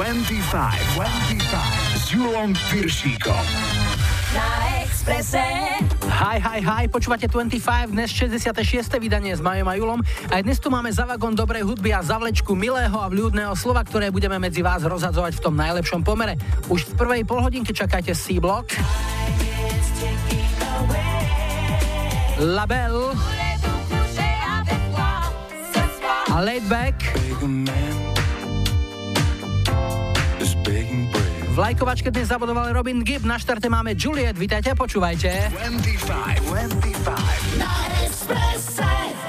s Julom Piršíkom. Na Expresse. Hi, počúvate 25, dnes 66. vydanie s Majom a Julom. Aj dnes tu máme za vagón dobrej hudby a zavlečku milého a vľúdneho slova, ktoré budeme medzi vás rozhadzovať v tom najlepšom pomere. Už v prvej polhodinke čakajte C-Block, Label a Laid Back. V lajkovačke dnes zabodoval Robin Gibb, na štarte máme Juliet, vítajte, počúvajte. 25 Na Expresse.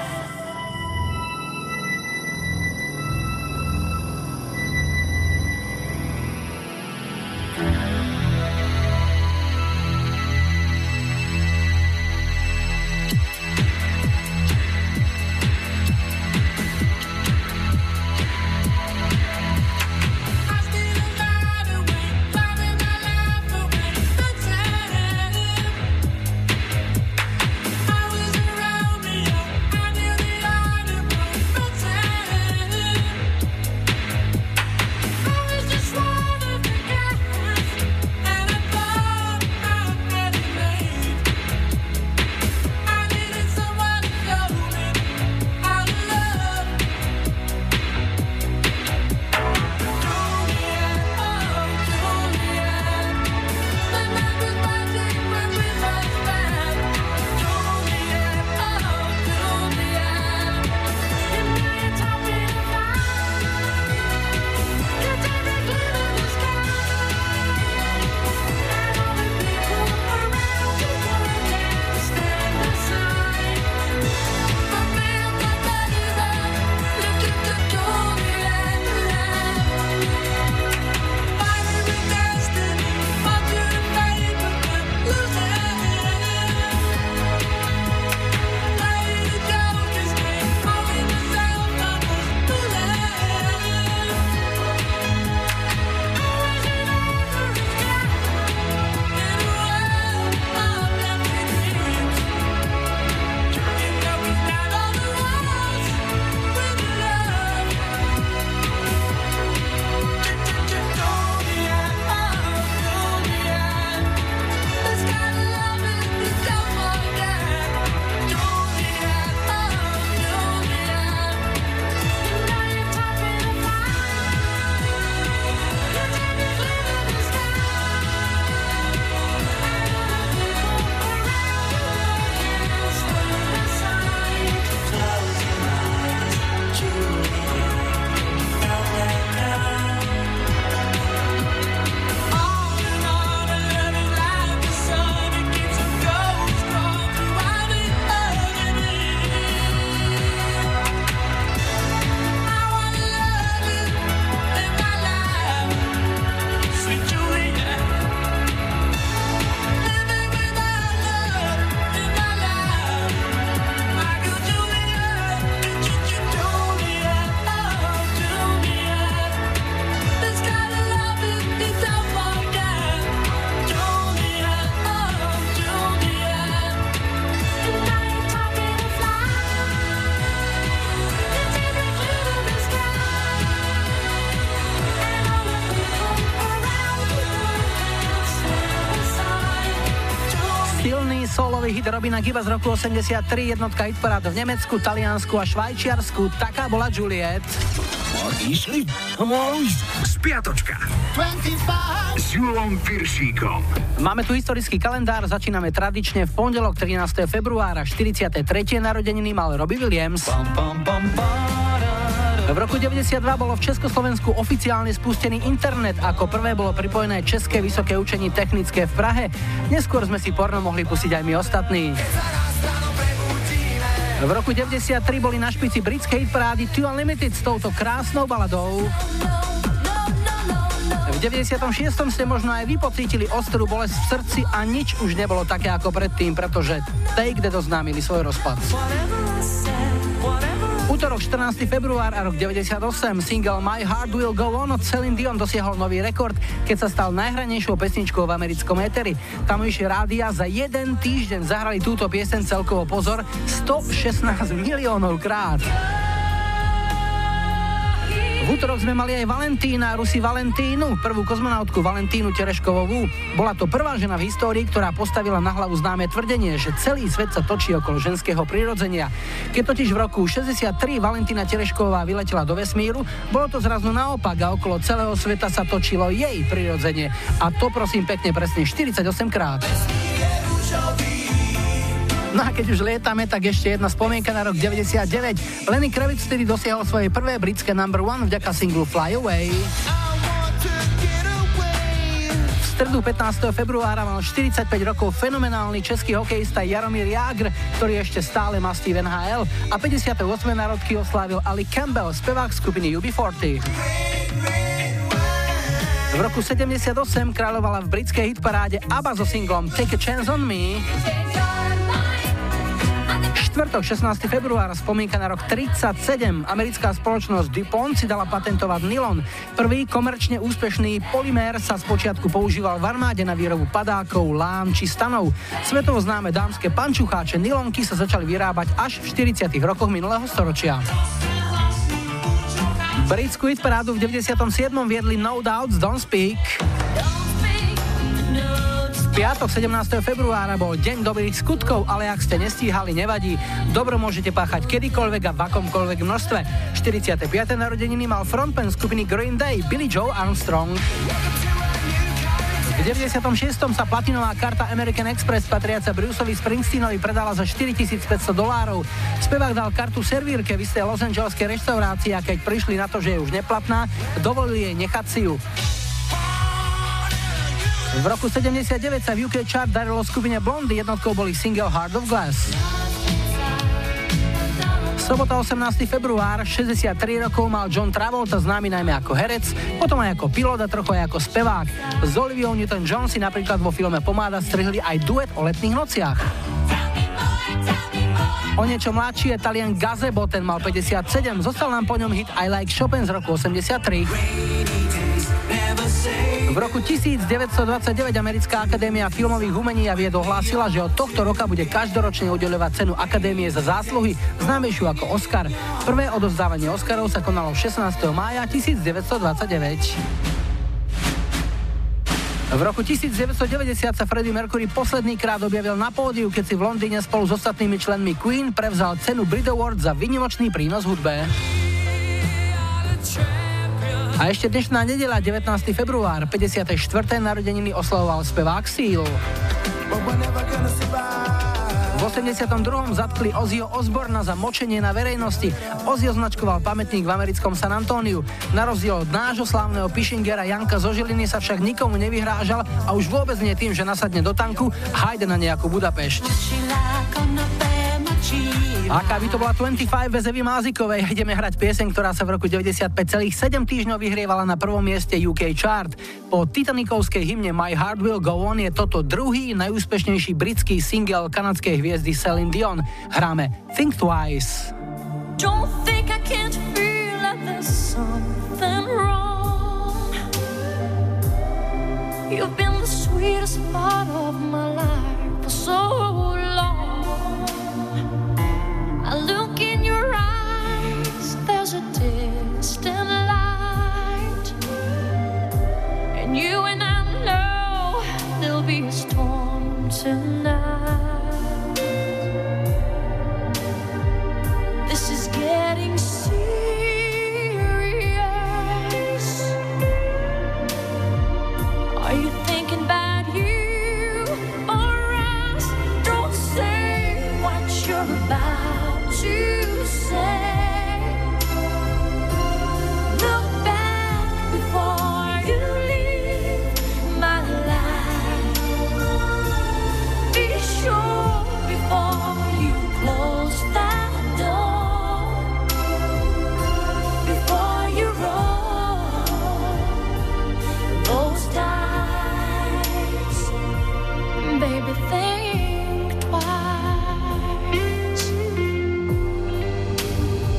Hit Robina Gibba z roku 83, jednotka hitparád v Nemecku, Taliansku a Švajčiarsku. Taká bola Juliet. Išli? Spiatočka 25 s Julom Piršíkom. Máme tu historický kalendár, začíname tradične v pondelok 13. februára, 43. narodeniny mal Robbie Williams. V roku 92 bolo v Československu oficiálne spustený internet, ako prvé bolo pripojené České vysoké učení technické v Prahe. Neskôr sme si porno mohli pustiť aj my ostatní. V roku 93 boli na špici britskej hitparády Two Unlimited s touto krásnou baladou. V 96. ste možno aj vy pocítili ostrú bolesť v srdci a nič už nebolo také ako predtým, pretože Take That oznámili svoj rozpad. Útorok 14. február a rok 98 single My Heart Will Go On od Celine Dion dosiahol nový rekord, keď sa stal najhranejšou pesničkou v americkom éteri. Tamojšie rádia za jeden týždeň zahrali túto pieseň celkovo, pozor, 116 miliónov krát. V V útorok sme mali aj Valentína, Rusi Valentínu, prvú kozmonautku Valentínu Tereškovovú. Bola to prvá žena v histórii, ktorá postavila na hlavu známe tvrdenie, že celý svet sa točí okolo ženského prirodzenia. Keď totiž v roku 63 Valentína Terešková vyletela do vesmíru, bolo to zrazu naopak a okolo celého sveta sa točilo jej prirodzenie. A to prosím pekne presne 48 krát. No a keď už lietame, tak ešte jedna spomienka na rok 99. Lenny Kravitz vtedy dosiahol svoje prvé britské number one vďaka singlu Fly Away. V stredu 15. februára mal 45 rokov fenomenálny český hokejista Jaromír Jágr, ktorý ešte stále mastí v NHL, a 58. narodky oslávil Ali Campbell, spevák skupiny UB40. V roku 78 kráľovala v britskej hitparáde ABBA so singlom Take a Chance on Me. Štvrtok, 16. február, spomínka na rok 37. Americká spoločnosť DuPont si dala patentovať nylon. Prvý komerčne úspešný polymér sa spočiatku používal v armáde na výrobu padákov, lán či stanov. Svetovo známe dámske pančucháče nylonky sa začali vyrábať až v 40. rokoch minulého storočia. Britskú hitparádu v 97. viedli No Doubts Don't Speak. Piatok 17. februára bol deň dobrých skutkov, ale ak ste nestíhali, nevadí. Dobro môžete páchať kedykoľvek a v akomkoľvek množstve. 45. narodeniny mal frontman skupiny Green Day Billy Joe Armstrong. V 96. sa platinová karta American Express patriaca Bruceovi Springsteenovi predala za $4500. Spevák dal kartu servírke v istej Los Angeleskej reštaurácii a keď prišli na to, že je už neplatná, dovolili jej nechať si ju. V roku 79 sa v UK chart darilo skupine Blondy, jednotkou boli single Heart of Glass. Sobota 18. február, 63 rokov mal John Travolta, známy najmä ako herec, potom aj ako pilot a trochu aj ako spevák. S Oliviou Newton-John si napríklad vo filme Pomáda strihli aj duet o letných nociach. O niečo mladší je Talian Gazebo, ten mal 57, zostal nám po ňom hit I Like Chopin z roku 83. V roku 1929 Americká akadémia filmových umení a vied ohlásila, že od tohto roka bude každoročne udeľovať cenu Akadémie za zásluhy, známejšiu ako Oscar. Prvé odovzdávanie Oscarov sa konalo 16. mája 1929. V roku 1990 sa Freddie Mercury posledný krát objavil na pódiu, keď si v Londýne spolu s ostatnými členmi Queen prevzal cenu Brit Award za výnimočný prínos hudbe. A ešte dnešná nedeľa, 19. február, 54. narodeniny oslavoval spevák Seal. V 82. zatkli Ozzyho Osborna za močenie na verejnosti. Ozzy označkoval pamätník v americkom San Antóniu. Na rozdiel od nášho slávneho Pishingera Janka zo Žiliny sa však nikomu nevyhrážal a už vôbec nie tým, že nasadne do tanku a hajde na nejakú Budapešť. Aká by to bola 25 bez Evy Mázikovej, ideme hrať pieseň, ktorá sa v roku 95,7 týždňov vyhrievala na prvom mieste UK chart. Po titanikovskej hymne My Heart Will Go On je toto druhý najúspešnejší britský single kanadskej hviezdy Celine Dion. Hráme Think Twice. Don't think I can't feel like there's something wrong. You've been the sweetest part of my life for so long. I look in your eyes, there's a distant light, and you and I know there'll be a storm tonight. This is getting serious. Are you thinking about you or us? Don't say what you're about to say. Look back before you leave my life. Be sure before you close that door, before you roll those dice. Baby, think twice.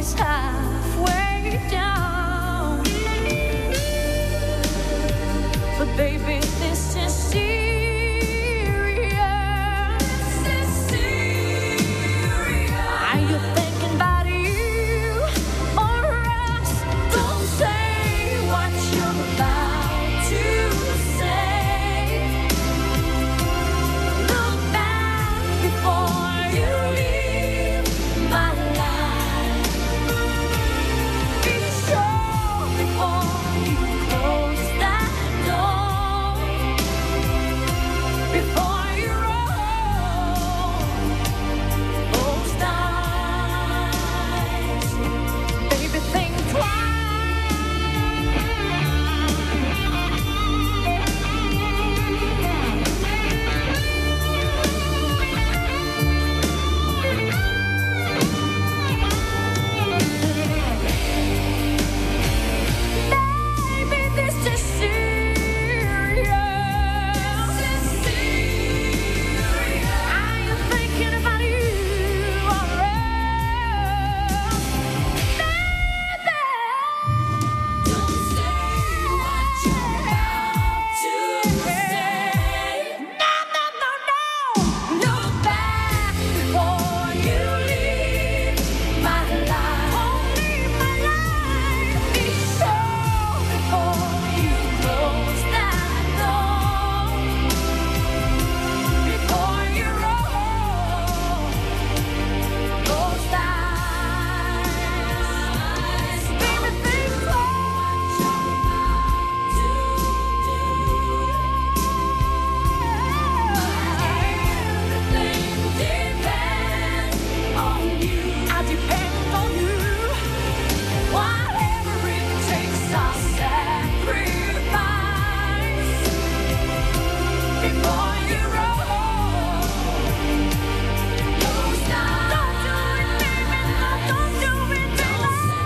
always halfway down. But baby, this is serious. Are you thinking about you or us? Don't say what you're about to say. Look back before you leave my life. Be sure before you close that door. Before you roll those dice, baby, think twice. Baby, this is serious. Are you thinking about you or us? Baby, don't say what you're about to say. No, no, no, no. Look back before you leave my life. Leave my life. Be sure before you close that door. Before you roll those dice, baby, think twice. Everything depends on you. I depend on you. Whatever it takes, I'll sacrifice. Before you roll those dice. Don't do it, baby. No, don't do it, baby.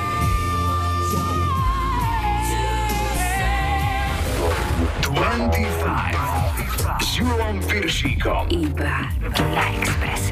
Don't say 25 s Julom Piršíkom. Iba na Expresse.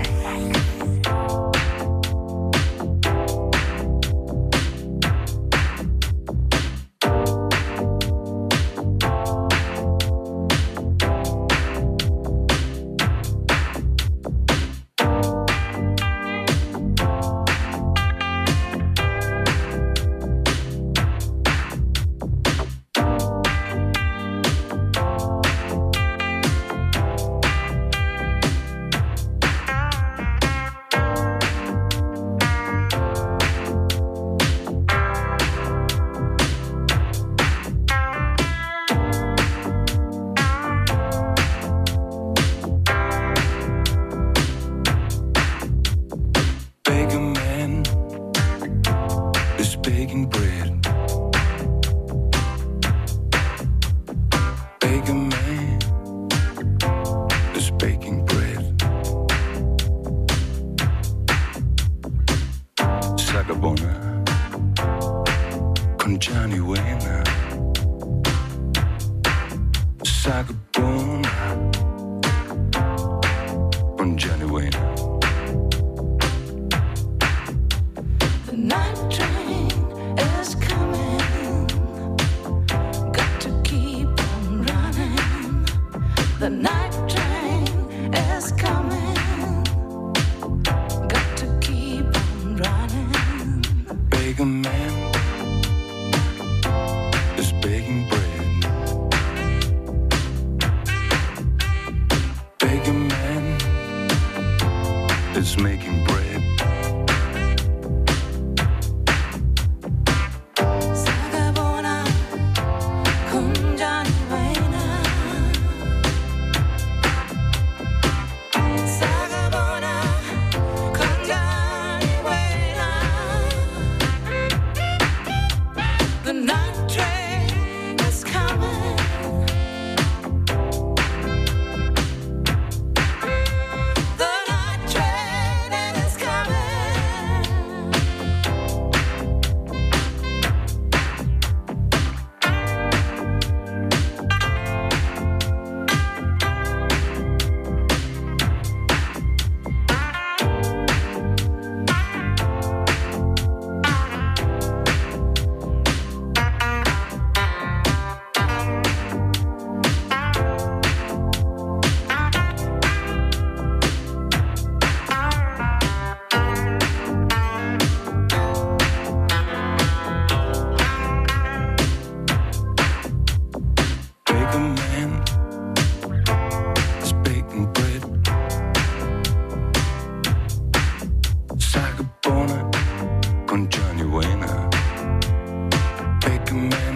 Beggar man is baking bread. Beggar man is baking bread. Sagabona con Johnny Wayne. Sagabona con Johnny Wayne. The night train is coming. Got to keep on running. The night train is coming. Got to keep on running. Beggar man is baking bread. Beggar man is making bread. Sagabona con Johnny Wayne. Sagabona con Johnny Wayne. The night train is coming. The night train is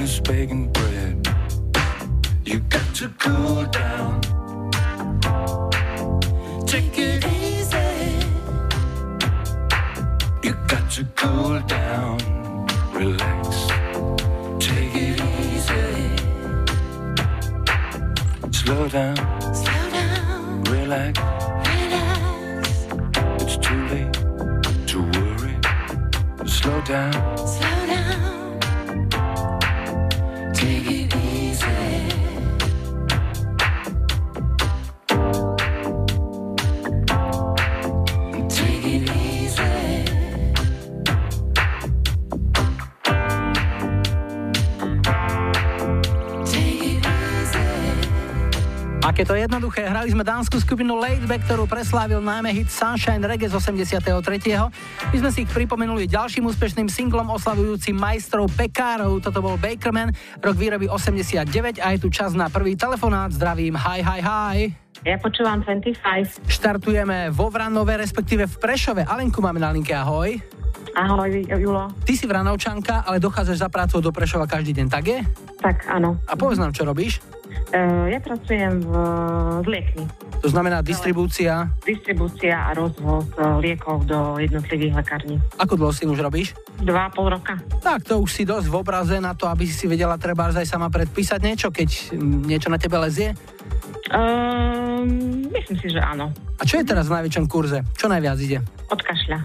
is baking bread. You got to cool down. Take it easy. You got to cool down. Relax. Take it easy. Slow down. Slow down. Relax. Relax. It's too late to worry. Slow down. Slow down. Take it easy. Take it easy. Take it easy. Aké to jednoduché, hrali sme dánsku skupinu Laidback, ktorú preslávil najmä hit Sunshine Reggae z 83. My sme si ich pripomenuli ďalším úspešným singlom oslavujúcim majstrov pekárov. Toto bol Bakerman, rok výroby 89 a je tu čas na prvý telefonát. Zdravím, hi. Ja počúvam 25. Štartujeme vo Vranove, respektíve v Prešove. Alenku máme na linke, ahoj. Ahoj, Julo. Ty si Vranovčanka, ale dochádzaš za prácou do Prešova každý deň, tak je? Tak, áno. A povedz nám, čo robíš? Ja pracujem v liekni. To znamená distribúcia. Distribúcia a rozvoz liekov do jednotlivých lekární. Ako dlho si už robíš? 2,5 roka. Tak, to už si dosť v obraze na to, aby si vedela trebárs aj sama predpísať niečo, keď niečo na tebe lezie? Myslím si, že áno. A čo je teraz v najväčšom kurze? Čo najviac ide? Od kašľa.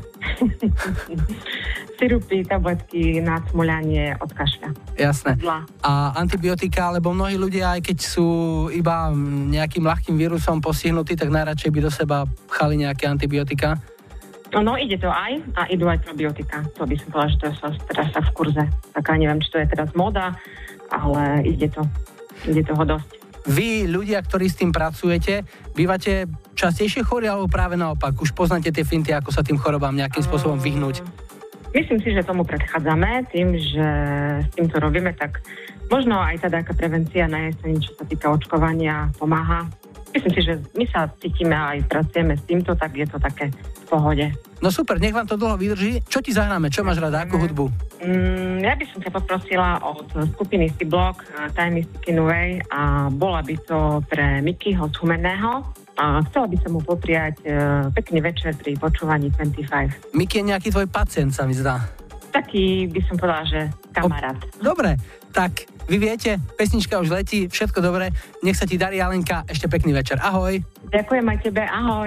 Sirupy, tabletky, nadsmuľanie od kašľa. Jasné. Zla. A antibiotika, lebo mnohí ľudia, aj keď sú iba nejakým ľahkým vírusom postihnutí, tak najradšej by do seba pchali nejaké antibiotika. No, ide to aj a idú aj probiotika. To by som povedala, že to je teraz v kurze. Tak ja neviem, či to je teraz móda, ale ide to. Ide toho dosť. Vy, ľudia, ktorí s tým pracujete, bývate častejšie chorí, alebo práve naopak? Už poznáte tie finty, ako sa tým chorobám nejakým spôsobom vyhnúť? Myslím si, že tomu predchádzame tým, že s týmto robíme, tak možno aj tá taká prevencia na jeseň, čo sa týka očkovania, pomáha. Myslím si, že my sa cítime aj pracujeme s týmto, tak je to také v pohode. No super, nech vám to dlho vydrží. Čo ti zahráme? Čo máš rada? Akú hudbu? Ja by som ťa poprosila od skupiny C-Block Time is Ticking Away a bola by to pre Mikyho z Humenného a chcela by som mu popriať pekný večer pri počúvaní 25. Miky je nejaký tvoj pacient, sa mi zdá. Taký by som povedala, že kamarát. Dobre, tak vy viete, pesnička už letí, všetko dobre, nech sa ti darí, Alenka, ešte pekný večer. Ahoj. Ďakujem aj tebe, ahoj.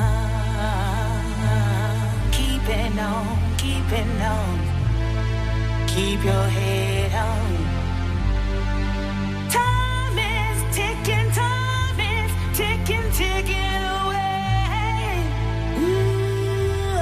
Keep it on, keep it on. Keep your head on. Time is ticking away. Ooh,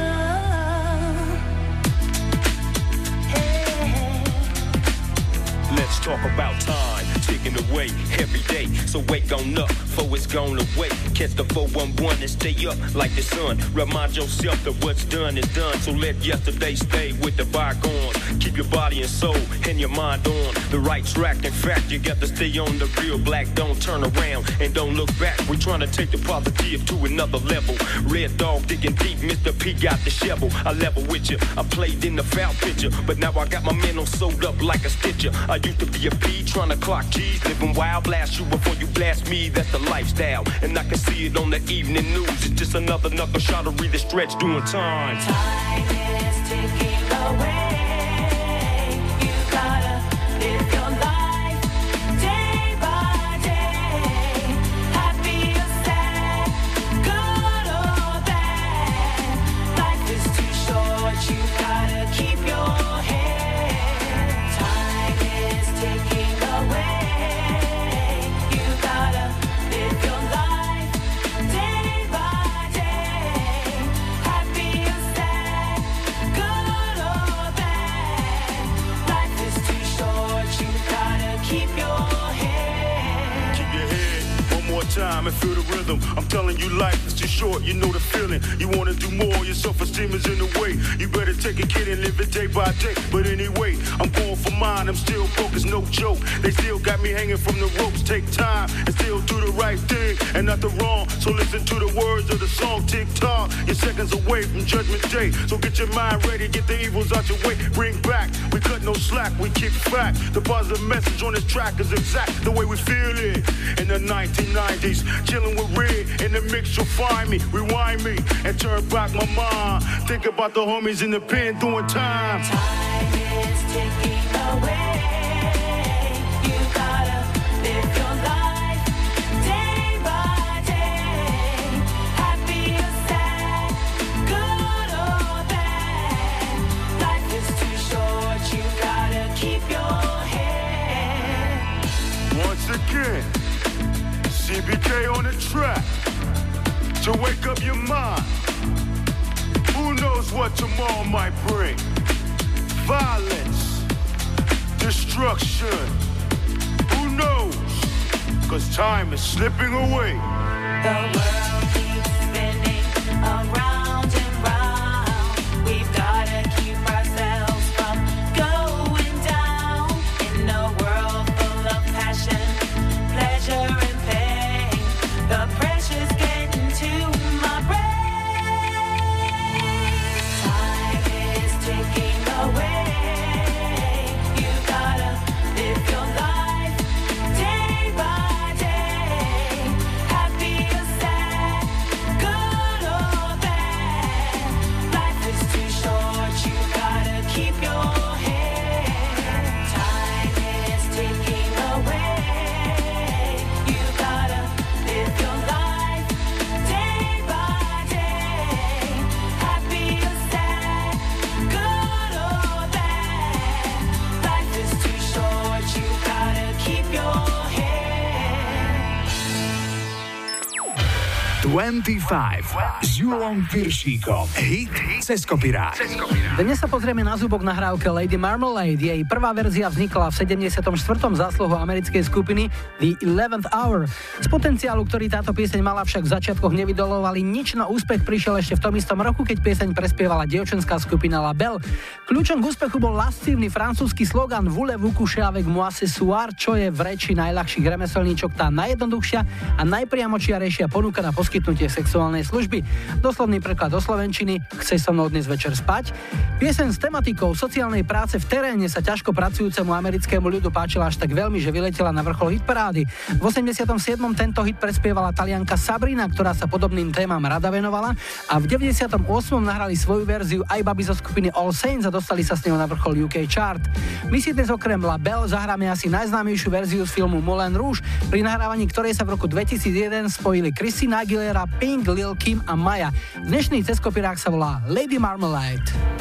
hey. Let's talk about time ticking away every day. So wake on up, for it's gone away. Catch the 411 and stay up like the sun. Remind yourself that what's done is done. So let yesterday stay with the bygones. Keep your body and soul and your mind on the right track. In fact, you got to stay on the real black. Don't turn around and don't look back. We're trying to take the positive to another level. Red dog digging deep, Mr. P got the shovel. I level with you. I played in the foul picture, but now I got my mental sewed up like a stitcher. I used to be a P trying to clock G's, living wild. Blast you before you blast me. That's the lifestyle, and I can see it on the evening news. It's just another knuckle shot to read the stretch doing time. Time is ticking away. You gotta live your life day by day. Happy or sad, good or bad. Life is too short, you gotta keep your head. Time is ticking away. You gotta live your life day by day. Happy or sad, good or bad. Life is too short, you gotta keep your head. Keep your head one more time and feel the rhythm. I'm telling you, life is too short, you know the feeling. You wanna do more, your self-esteem is in the way. You better take a kid and live it day by day. But anyway, I'm going for mine, I'm still focused, no joke. They still got me hanging from the ropes. Take time and still do the right thing and nothing wrong. So listen to the words of the song, tick-tock. You're seconds away from Judgment Day. So get your mind ready, get the evils out your way. Bring back, we cut no slack. slack, we kick back. The positive message on this track is exact the way we feel it. In the 1990s, chilling with Red. In the mix, you'll find me, rewind me, and turn back my mind. Think about the homies in the pen doing time. Time is ticking away. You gotta live your life day by day. Happy or sad, good or bad. Life is too short, you gotta keep your head. Once again, CBK on the track to wake up your mind. Who knows what tomorrow might bring? Violence, destruction. Who knows? 'Cause time is slipping away. The world keeps spinning around and round. We've gotta keep ourselves from going down. In a world full of passion, pleasure and pain, the pressure's getting to my brain. Time is ticking away. You gotta live your life day by day. Happy or sad, good or bad. Life is too short, you gotta keep your head. Time is ticking away. You gotta live your life day by day. Happy or sad, good or bad. Life is too short, you gotta keep your head. 25 s Julom Piršíkom. Hit cez kopirát. Dnes sa pozrieme na zúbok nahrávke Lady Marmalade. Jej prvá verzia vznikla v 74. zásluhou americkej skupiny The 11th Hour. Z potenciálu, ktorý táto pieseň mala, však v začiatkoch nevydolovali nič, no úspech prišiel ešte v tom istom roku, keď pieseň prespievala dievčenská skupina La Belle. Kľúčom k úspechu bol lascívny francúzsky slogan Voulez-vous coucher avec moi ce soir, čo je v reči najľahších remeselníčok tá najjednoduchšia a najpriamočiarejšia ponuka na poskytnutie sexuálnej služby. Doslovný preklad do slovenčiny: Chceš so mnou dnes večer spať? Pieseň s tematikou sociálnej práce v teréne sa ťažko pracujúcemu americkému ľudu páčila až tak veľmi, že vyletela na vrchol hitparády. V 87. tento hit prespievala Talianka Sabrina, ktorá sa podobným témam rada venovala, a v 98. nahrali svoju verziu aj baby zo skupiny All Saints a dostali sa s ňou na vrchol UK chart. My si dnes okrem La Belle zahráme asi najznámejšiu verziu z filmu Moulin Rouge, pri nahrávaní ktorej sa v roku 2001 spojili Christina Aguilera, Pink, Lil Kim a Maya. Dnešný ceskopirák sa volá Lady Marmalade.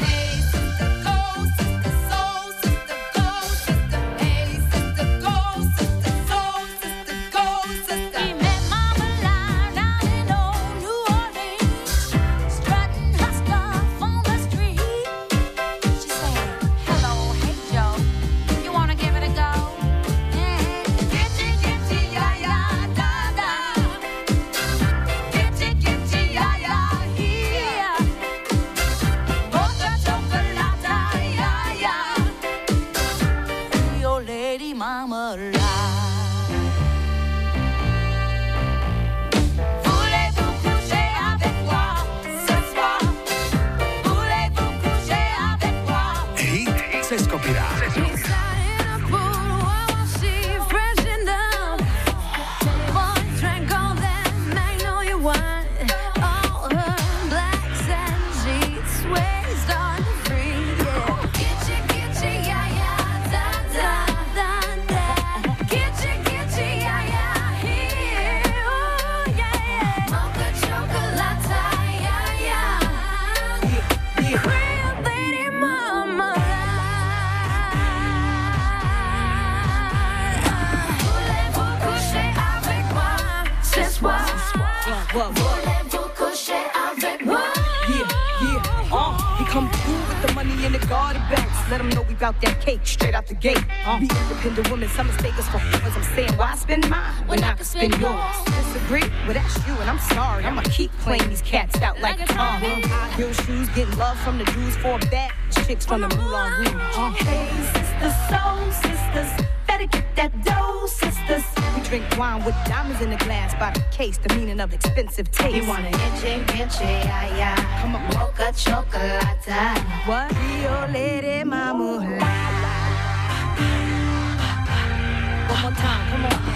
Let them know we bout that cake straight out the gate. Be independent women, some mistake us for as I'm saying, why spend mine when I can spend yours? Disagree? Well, that's you, and I'm sorry. I'ma keep playing these cats out like a Tom. High heel shoes, getting love from the dudes for bad chicks from the Moulin Rouge. Hey, sisters, soul sisters, better get that dough, sisters. We drink wine with diamonds in the glass by the case, the meaning of expensive taste. You want an inche, yeah, yeah. Come on, mocha chocolate. What? Rio Lady Marmalade. more time, come on.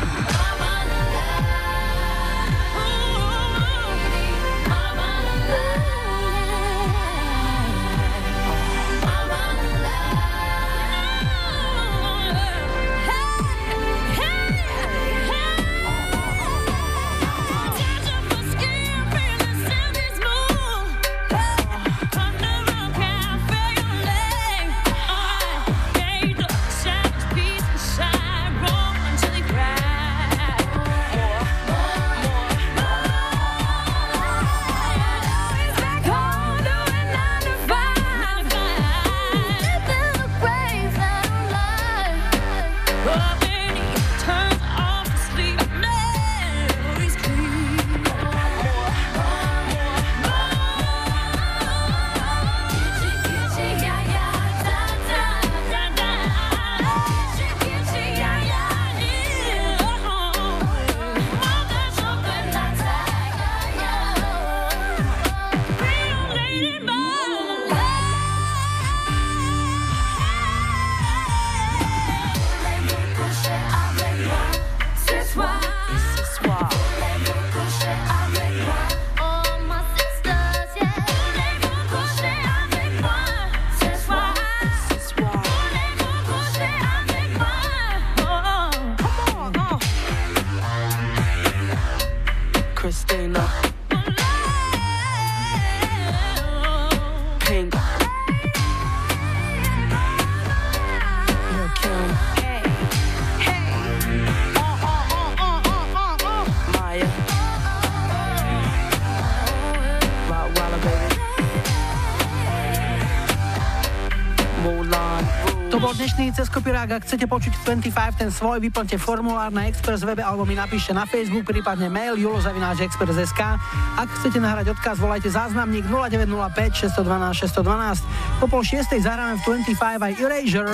Dnešný Ceskopirák, ak chcete počuť 25, ten svoj, vyplňte formulár na Express webe alebo mi napíšte na Facebook, prípadne mail julo@express.sk. Ak chcete nahrať odkaz, volajte záznamník 0905 612 612. Po 5:30 zahráme v 25 aj Erasure.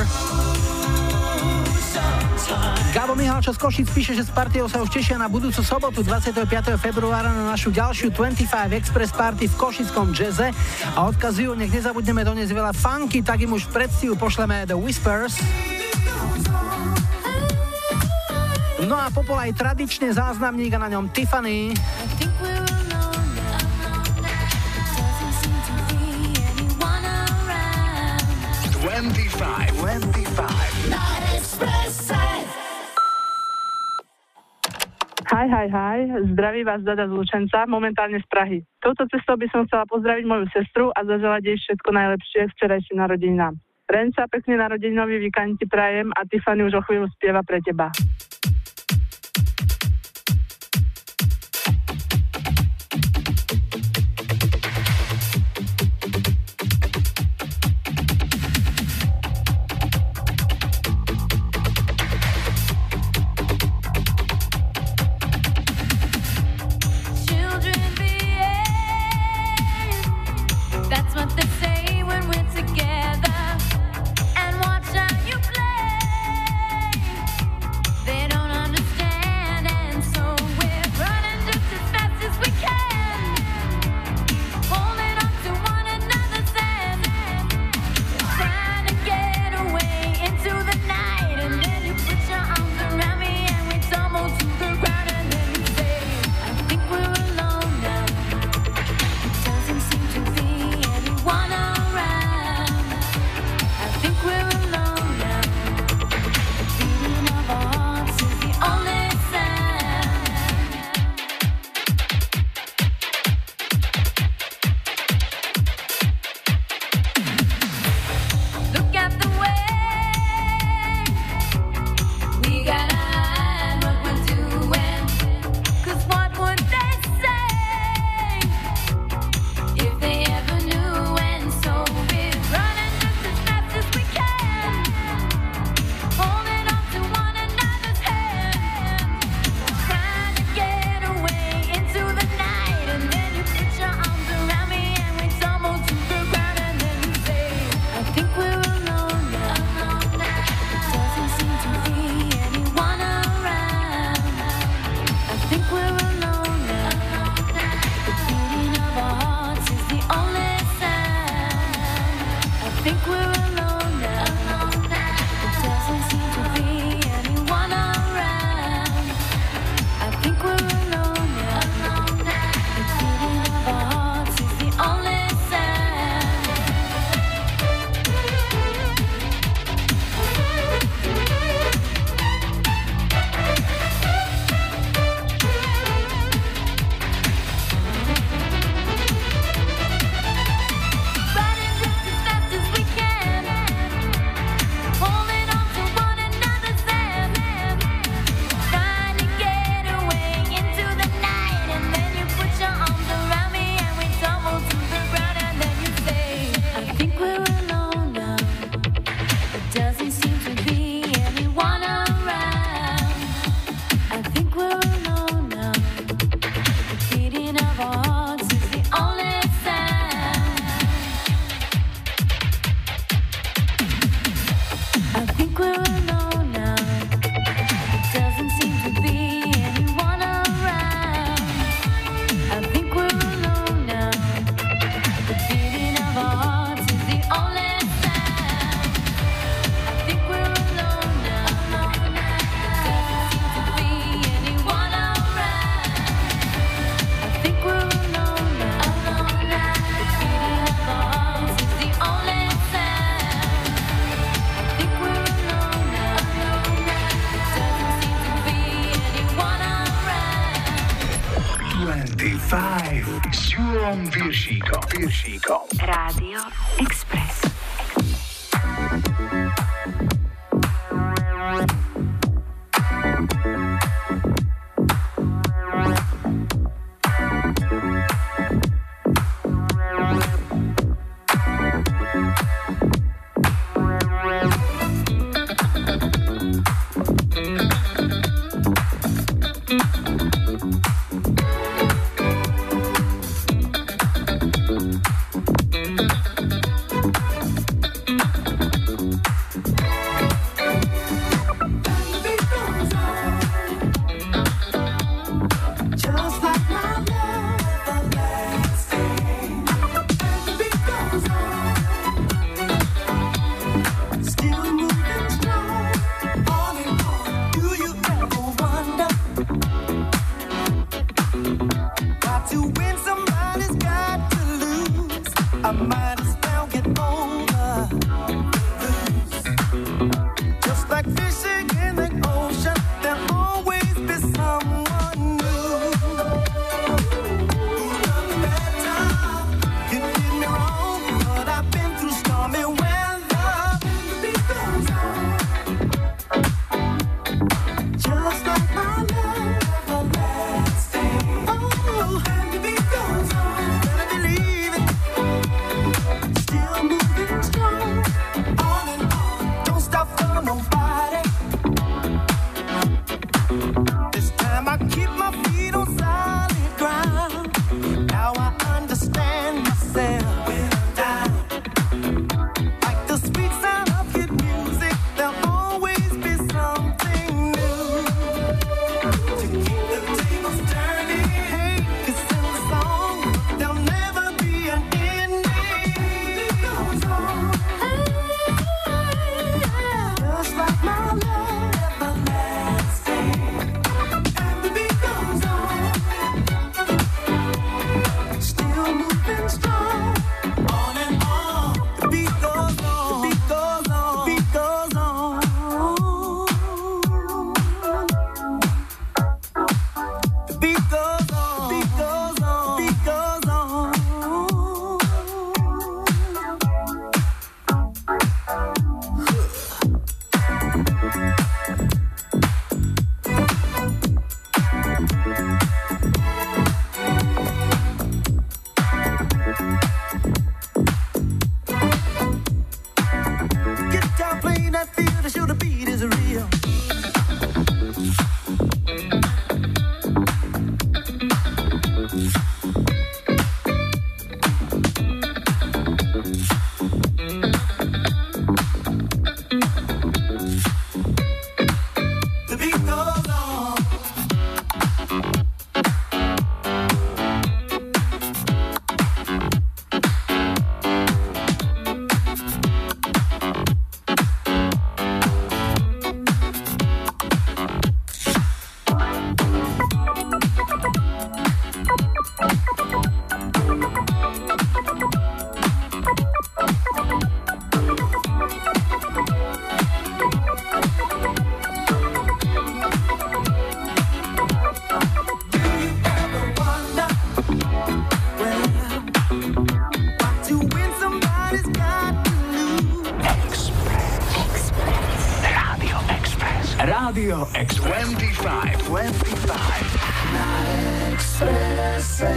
Gabo Mihalčo z Košic píše, že s partiou sa už tešia na budúcu sobotu 25. februára na našu ďalšiu 25 Express Party v košickom jazze a odkazujú, nech nezabudneme doniesť veľa funky, tak im už v predstihu pošleme The Whispers. No a popol aj tradične záznamník a na ňom Tiffany. 25 na Expresse. Hi, zdraví vás Dada z Lučenca, momentálne z Prahy. Touto cestou by som chcela pozdraviť moju sestru a zaželať jej všetko najlepšie k včerajším narodeninám. Renca, pekný narodeninový víkend ti prajem a Tiffany už o chvíľu spieva pre teba. Then s Júlom Piršíkom. Rádio Express. Rádio Express 25 na Expresse.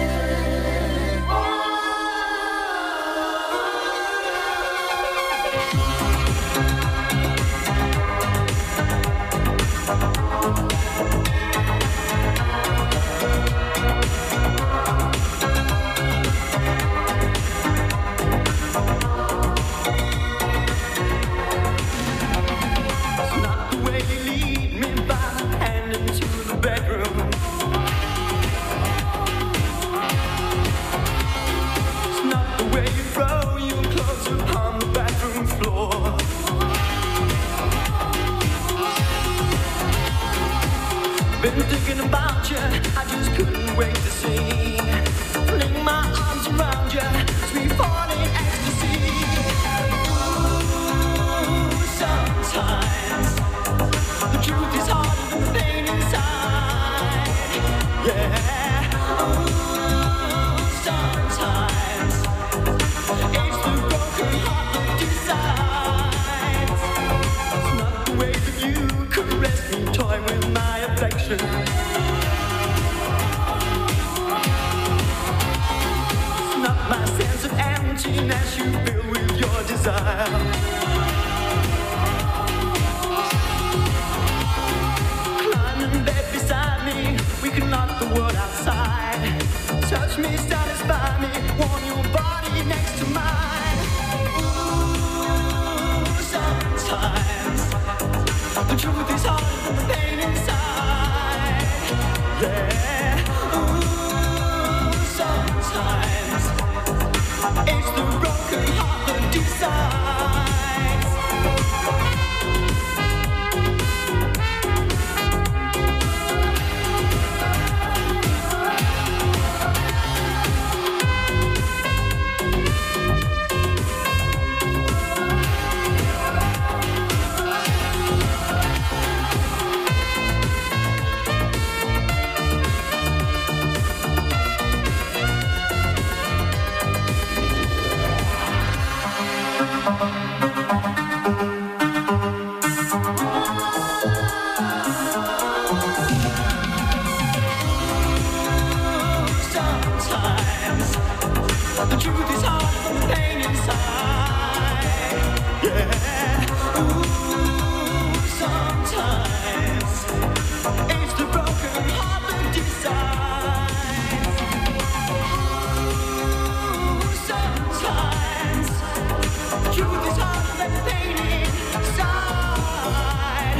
Been thinking about you, I just couldn't wait to see. Fling my arms around you, sweet falling ecstasy. Ooh, sometimes the truth is harder than the pain inside. Yeah. Ooh. passion. Not my sense of emptiness you fill with your desire. Climb in bed beside me, we can knock the world outside. Touch me, satisfy me, warm your body next to mine. Ooh, sometimes the truth is harder than the pain inside. Yeah. Ooh, sometimes it's the broken heart that decides. The truth is harder than the pain inside. Yeah. Ooh, sometimes it's the broken heart that decides. Ooh, sometimes the truth is harder than the pain inside.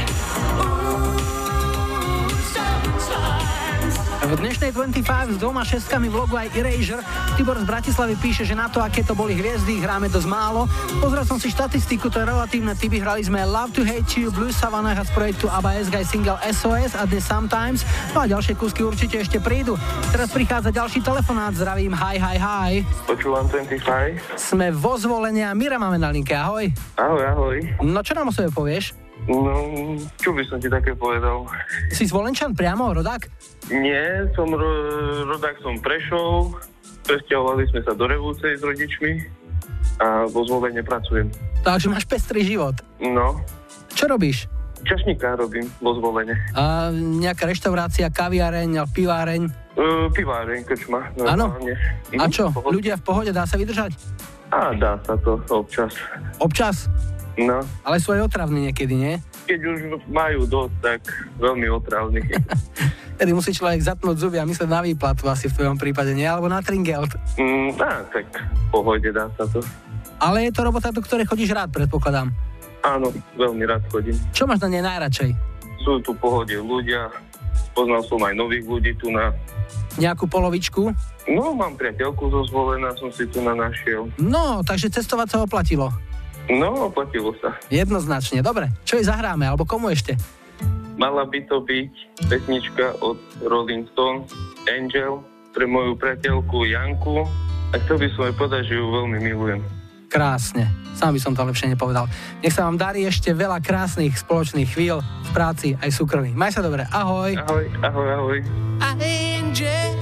Ooh, sometimes. V dnešnej 25 s 2 šestkami v logu aj Erasure. Tibor z Bratislavy píše, že na to, aké to boli hviezdy, hráme dosť málo. Pozrel som si štatistiku, to je relatívne typy. Hrali sme Love to Hate You, Blue Savannah z projektu ABBA S-Guy single SOS a The Sometimes. No a ďalšie kúsky určite ešte prídu. Teraz prichádza ďalší telefonát. Zdravím, hi. Počúvam 25. Sme vo Zvolenie a Mira máme na linke. Ahoj. Ahoj. No čo nám o sebe povieš? No, čo by som ti také povedal? Si Zvolenčan priamo, rodák? Nie, som rodák, som Prešov. Presťahovali sme sa do Revúcej s rodičmi a vo Zvolenie pracujem. Takže máš pestrý život. No. Čo robíš? Čašníka robím vo Zvolenie. A nejaká reštaurácia, kaviareň, piváreň? Piváreň, krčma. Áno? A čo? Ľudia v pohode, dá sa vydržať? Dá sa to občas. Občas? No. Ale sú aj otravní niekedy, nie? Keď už majú dosť, tak veľmi otravní. Tedy musí človek zatnúť zuby a myslieť na výplatu asi v tvojom prípade, nie? Alebo na tringelt. Tak v pohode dá sa to. Ale je to robota, do ktorej chodíš rád, predpokladám. Áno, veľmi rád chodím. Čo máš na nej najradšej? Sú tu v pohode ľudia, poznal som aj nových ľudí tu na... Nejakú polovičku? No, mám priateľku zo Zvolena, som si tu našiel. No, takže cestovať sa oplatilo. No, oplatilo sa. Jednoznačne, dobre. Čo jej zahráme, alebo komu ešte? Mala by to byť pesnička od Rolling Stones, Angel, pre moju priateľku Janku. A chcel by som aj povedať, že ju veľmi milujem. Krásne. Sám by som to lepšie nepovedal. Nech sa vám darí ešte veľa krásnych spoločných chvíľ v práci aj súkromí. Maj sa dobre. Ahoj. Ahoj. Angel,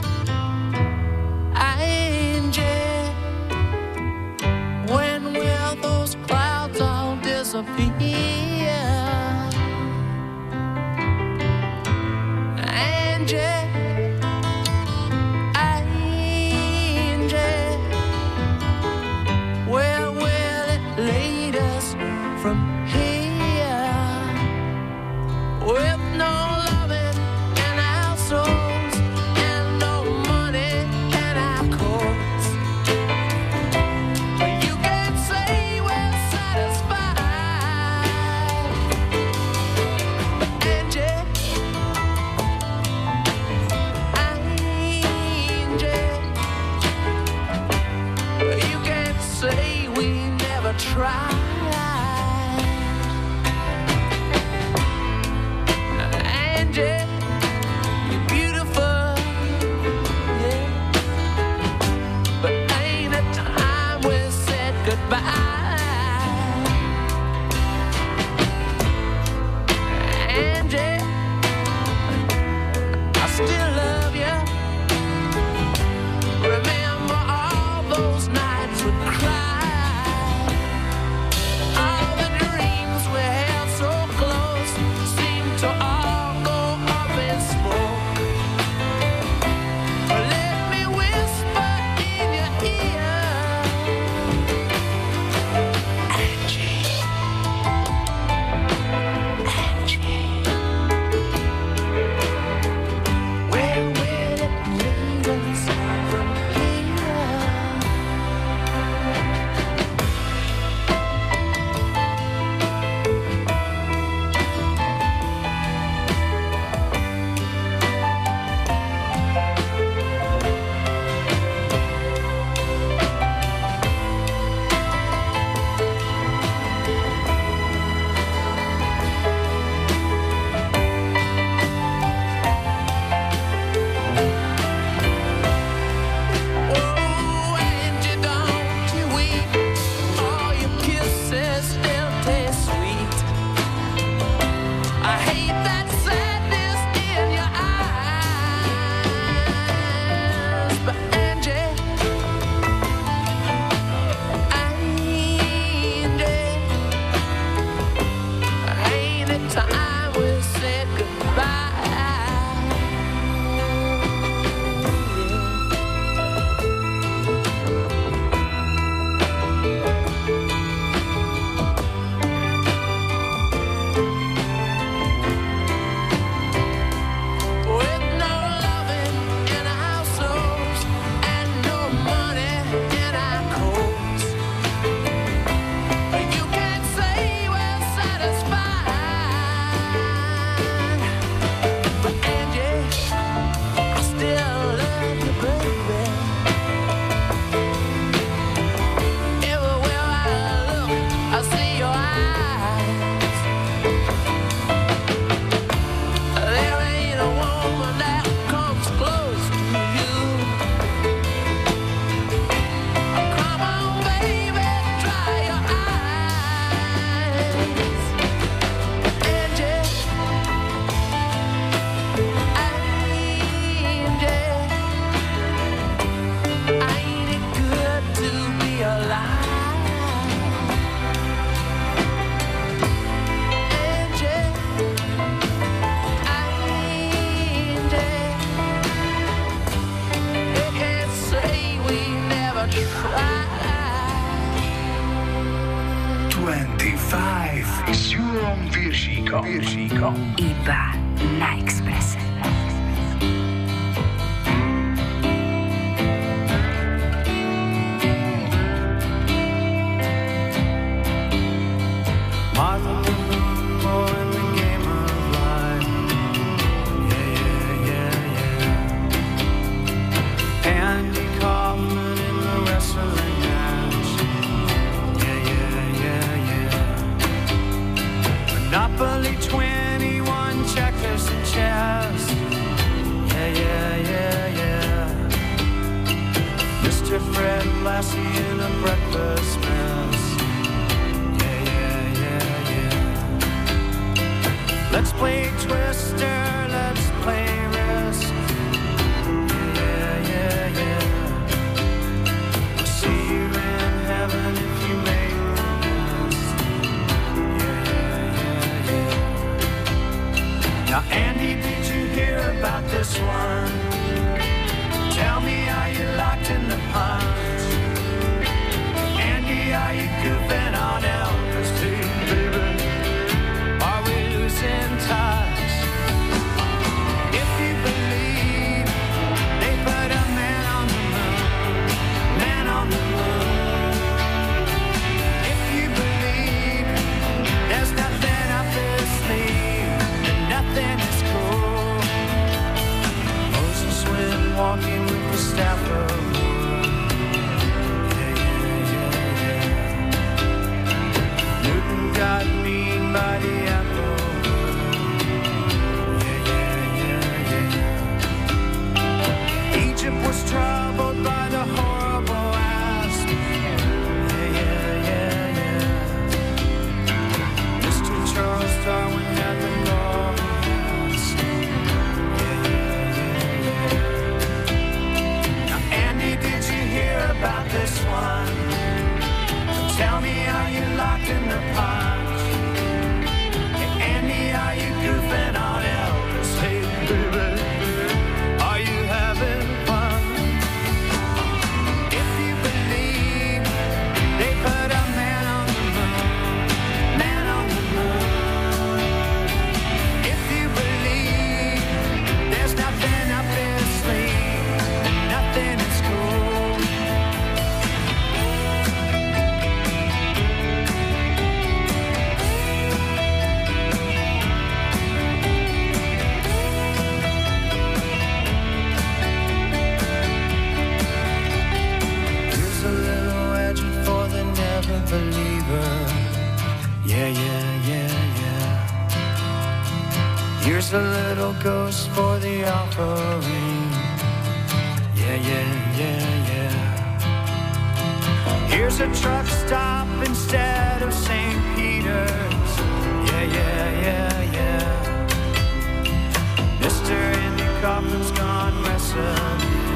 when will those clouds all disappear? Angel, where will it lead us from here? With no loving in our souls and no money in our coats, you can't say we're satisfied. Angel, you can't say we never tried. s Júlom Piršíkom. Iba na Expresse. Monopoly 21, checkers and chess. Yeah. Mr. Fred Lassie in a breakfast mess. Yeah. Let's play Twister, let's play Risk. Yeah. I'll see you in heaven if you make the list. Yeah. Now, Andy, did you hear about this one? Tell me, are you locked in the punch? Andy, are you goofing on Elvis too, baby? Are we losing touch? If you believe they put a man on the moon, if you believe there's nothing up his sleeve, and nothing is cool. Moses went walking with the staff of wood. Yeah. Newton got mean by the apple. Yeah. Egypt was troubled by the horrible asp. Yeah. Mr. Charles Darwin had the laws. Yeah. Andy, did you hear about this one? Tell me, are you locked in the punch? Hey, Andy, are you goofing on Elvis? Hey, baby, are you having fun? If you believe they put a man on the moon, if you believe there's nothing up his sleeve, and nothing is cool. Here's a little legend for the never believer. Yeah. Here's a little ghost for the offering. Yeah. Here's a truck stop instead of St. Peter's. Yeah. Mr. Andy Kaufman's gone wrestling.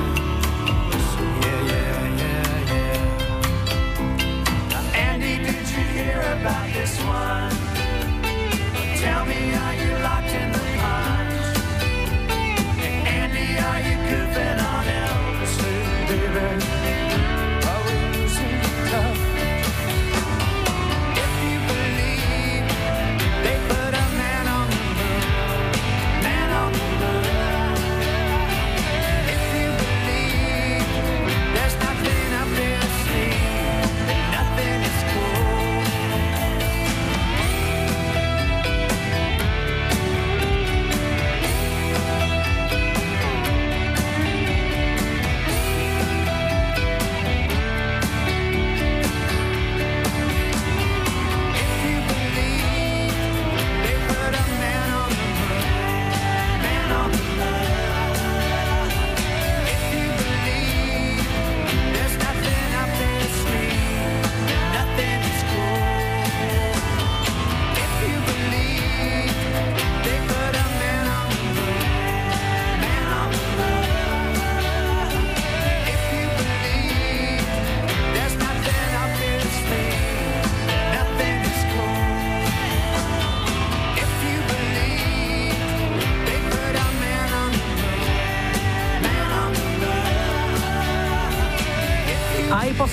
Yeah. Now, Andy, did you hear about this one? Tell me, are you locked in the punch? Hey, Andy, are you goofing on Elvis? Hey, baby, are we losing touch? If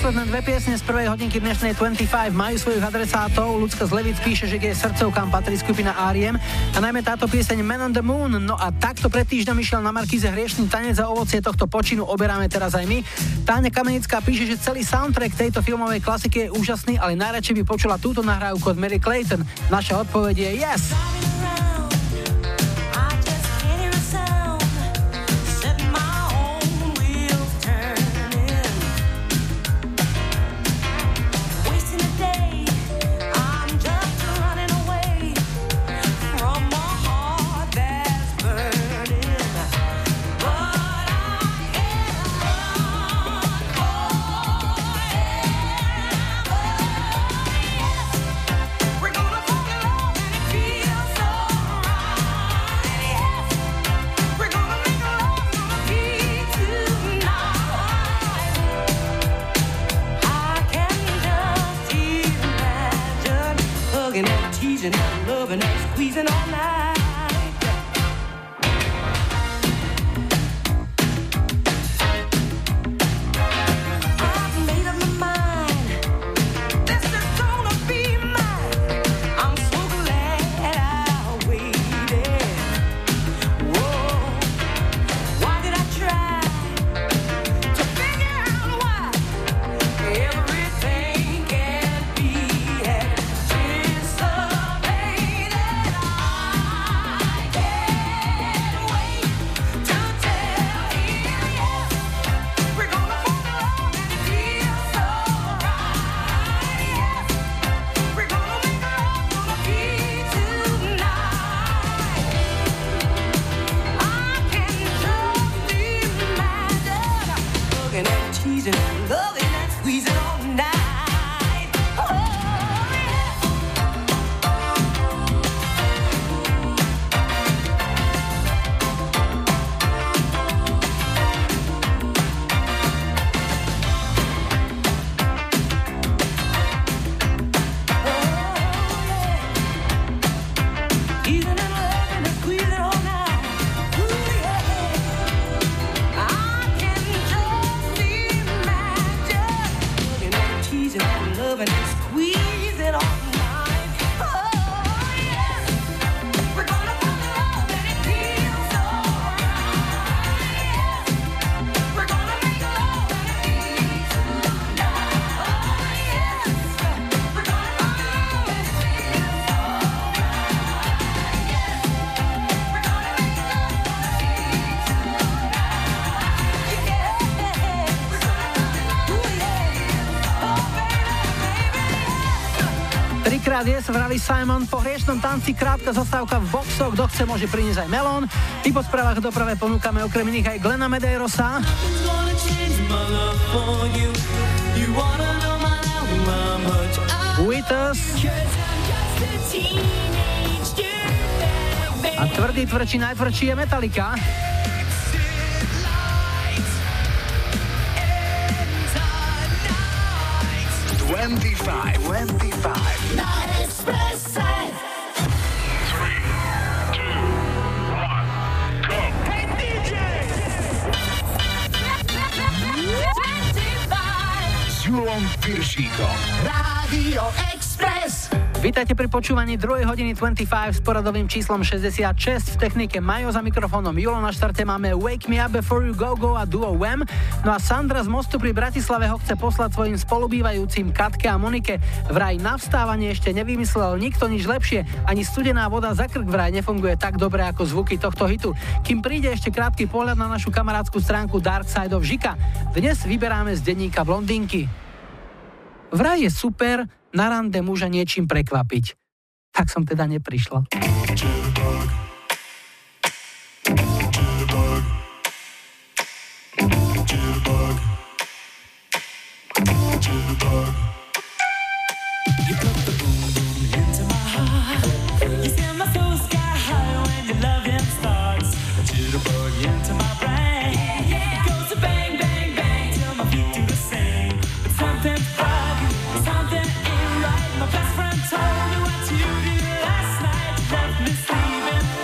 posledné dve piesne z prvej hodinky dnešnej 25 majú svojich adresátov. Ľudská z Levic píše, že jej srdcovkám patrí skupina R.E.M. a najmä táto pieseň Man on the Moon. No a takto pred týždňom išiel na Markíze hriešný tanec a ovocie tohto počinu oberáme teraz aj my. Táňa Kamenická píše, že celý soundtrack tejto filmovej klasiky je úžasný, ale najradšej by počula túto nahrávku od Mary Clayton. Naša odpoveď je yes. Yes, vraví Simon, po hriešnom tanci krátka zastávka v boxoch, kto chce, môže priniesť aj melón. I po správach doprave ponúkame okrem iných aj Glena Medeirosa. With Us. A tvrdší, najtvrdší je Metallica. 25 na Expresse. 3, 2, 1, go. Hey DJ! 25 S Julom Piršíkom. Rádio Express. Vítajte pri počúvaní 2 hodiny 25 s poradovým číslom 66. V technike Majo, za mikrofónom Julo. Na štarte máme Wake Me Up Before You Go Go a duo Wham. No a Sandra z Mostu pri Bratislave ho chce poslať svojim spolubývajúcim Katke a Monike. Vraj na vstávanie ešte nevymyslel nikto nič lepšie. Ani studená voda za krk vraj nefunguje tak dobre ako zvuky tohto hitu. Kým príde ešte krátky pohľad na našu kamarádskú stránku Dark Side of Žika. Dnes vyberáme z denníka Blondinky. Vraj je super na rande muža niečím prekvapiť. Tak som teda neprišla. My best friend told me what you did last night. You left me sleeping.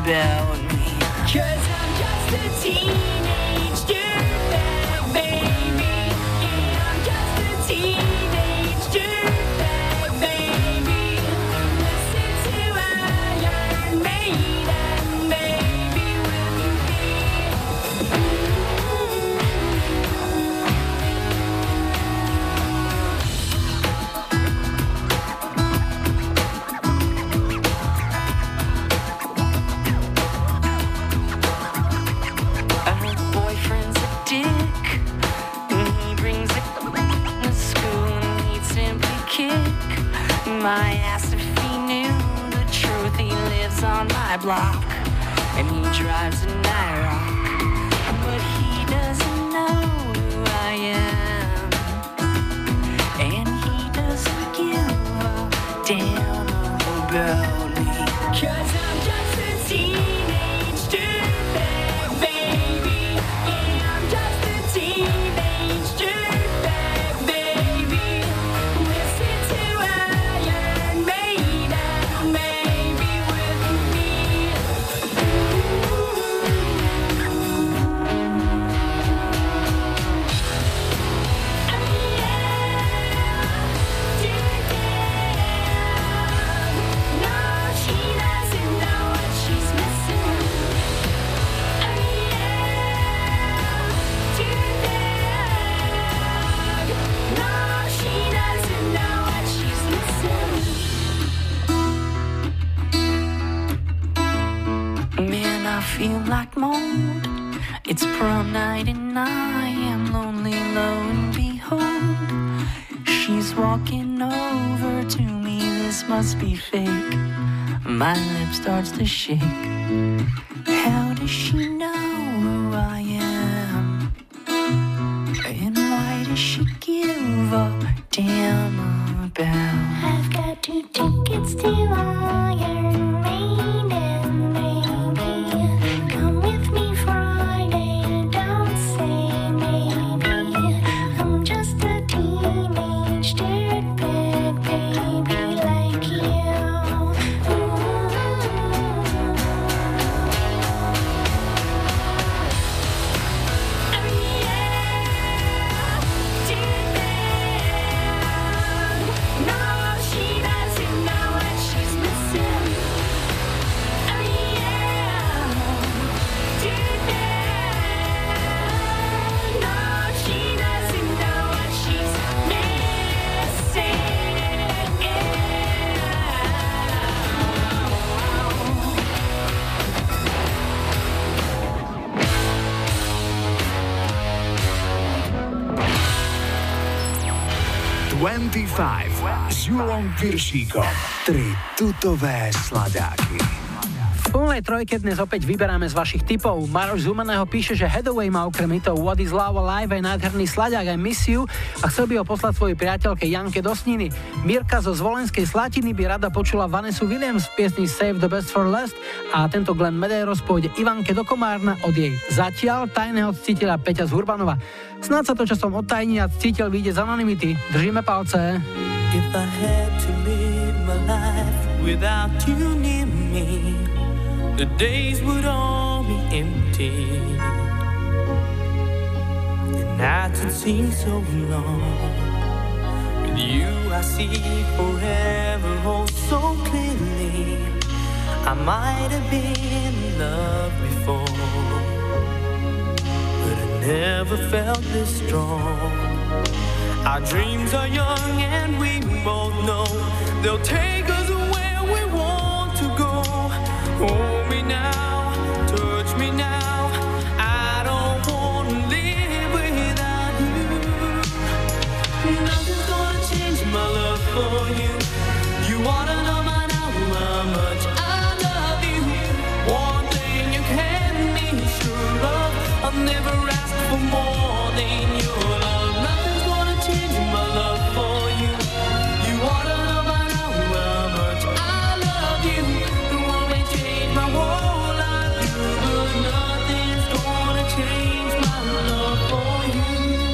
about me. 'Cause I'm just a teenage dirtbag, baby. Yeah, I'm just a teenage dirtbag, baby. Listen to Iron Maiden, baby, with me. Boyfriend's a dick. He brings it to school and he'd simply kick my ass if he knew the truth. He lives on my block and he drives an IROC, but he doesn't know who I am, and he doesn't give a damn about me. 'Cause I'm just a teenage dirtbag, baby. Yeah, I'm just a teenage dirtbag, baby. Listen to Iron Maiden, baby, with me. No, she doesn't know what she's missing. No, she doesn't know what she's missing. Man, I feel like mold. It's prom night and I am lonely, lo and behold. She's walking over to me, this must be fake. My lip starts to shake. How does she know who I am? And why does she give a damn about? I've got 2 tickets to Iron Maiden, baby. Come with me Friday, don't say maybe. I'm just a teenage dirtbag, baby, like you. No, she doesn't know what she's missing. No, she doesn't know what she's missing. s Julom Piršíkom. 3 tutové sladáky. V plnej trojke dnes opäť vyberáme z vašich tipov. Maroš z Humenného píše, že Hathaway má okrem hitov What is Love Alive aj nádherný slaďák I Miss You a chcel by ho poslať svojej priateľke Janke do Sniny. Mirka zo Zvolenskej Slatiny by rada počula Vanessa Williams v piesni Save the Best for Last a tento Glenn Medeiros pôjde Ivanke do Komárna od jej zatiaľ tajného ctiteľa Peťa z Hurbanova. Snáď sa to časom odtajní a ctiteľ vyjde z anonymity. Držíme palce. If I had to live my life without you near me, the days would all be empty. The nights would seem so long. With you I see forever oh so clearly. I might have been in love before, but I never felt this strong. Our dreams are young and we both know they'll take us where we want to go. Hold me now, touch me now. I don't want to live without you. Nothing's gonna change my love for you. You wanna know by now how much I love you. One thing you can be sure of, I'll never ask for more than your love. Nothing's gonna change my love for you. You wanna know by now how much I love you. It won't change my whole life, but nothing's gonna change my love for you.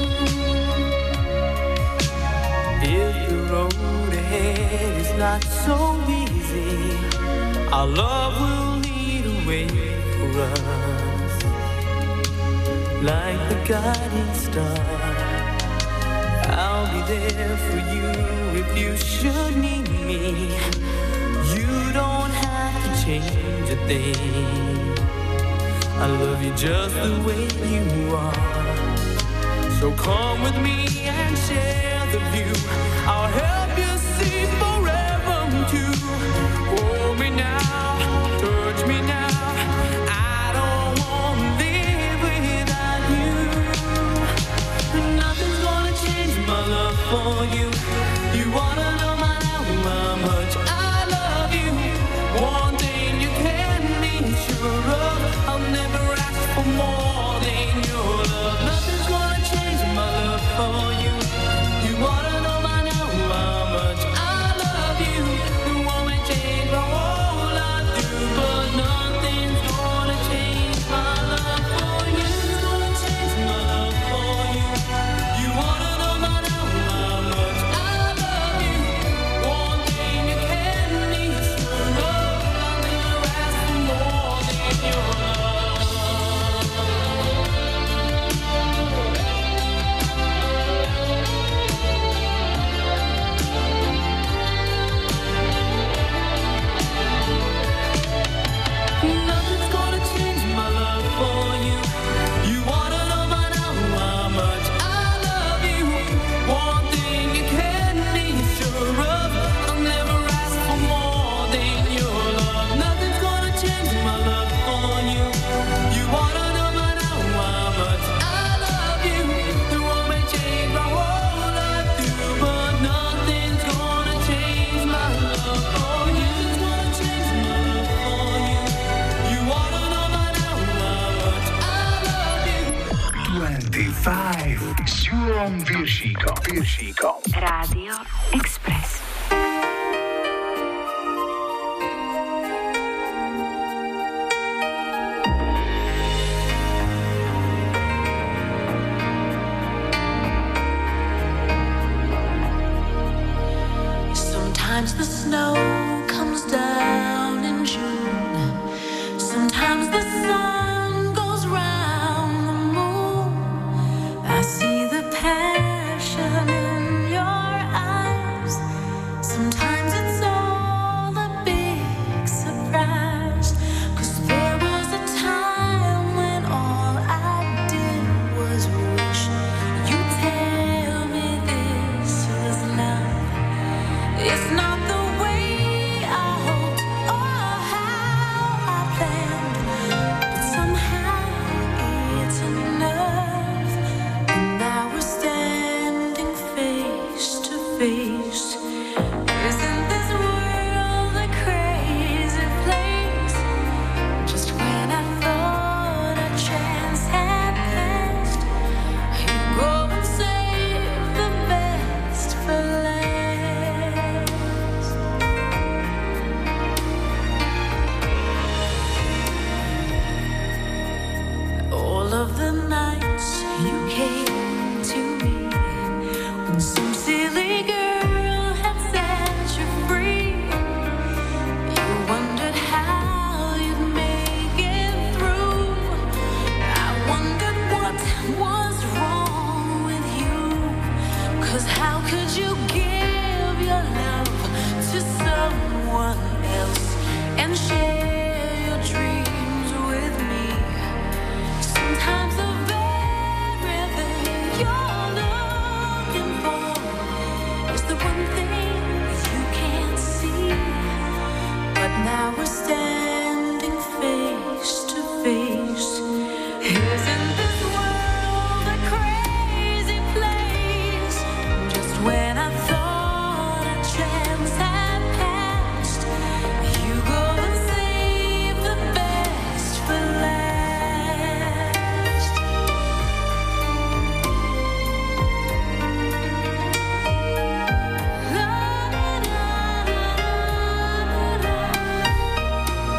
If the road ahead is not so easy, our love will lead a way for us, like the guiding star. I'll be there for you if you should need me. You don't have to change a thing. I love you just the way you are. So come with me and share the view. I'll help you see forever too. Hold me now, touch me now. I don't want to live without you. Nothing's gonna change my love for you. You wanna know my how much I love you. One thing you can be sure of, I'll never ask for more than your love. Nothing's gonna change my love for you. You wanna know by now how much I love you. You won't change my whole life through, but nothing's gonna change my love for you. It's gonna change my love for you. You wanna know by now how much I love you. One thing you can be sure of, I'll never ask for more than your love. Nothing's gonna change my love for you. You wanna know by now how much I love you. One thing you can be sure of, I'll never ask for more than your love. Nothing's gonna change my love for you. You wanna know by now how much I love you. The world may change my whole life through, but nothing's gonna change my love for you. It's gonna change my love for you. You wanna know by now how much I love you. 25 s Júlom Viršíkom. Rádio Express. Sometimes the snow comes down in June. Sometimes the sun goes round the moon. I see the passion in your eyes. Sometimes it's all a big surprise. 'Cause there was a time when all I did was wish you'd tell me this was love. It's not the way I hoped or how I planned, but somehow it's enough. And now we're standing face to face. Isn't this world a crazy place? Just when I thought a chance had passed, you go and save the best for last. All of the nights you came to me when some silly girl had set you free. You wondered how you'd make it through. I wondered what was wrong with you. 'Cause how could you give your love to someone else and share your dreams with me? Sometimes the very thing you're looking for is the one thing you can't see. But now we're standing face to face. Isn't this world a crazy place? Just when I thought a chance had passed, you go and save the best for last. La, la, la, la, la.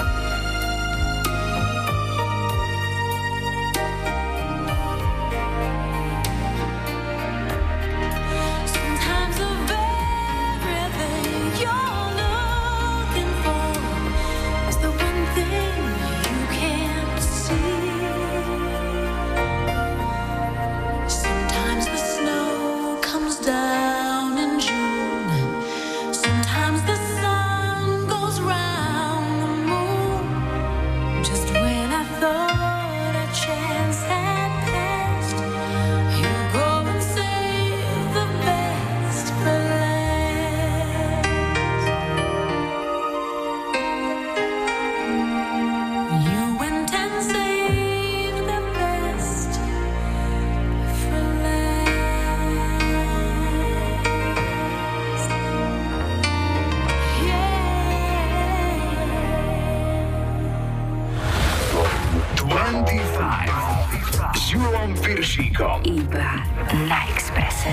Julom Piršíkom. Iba na Expresse.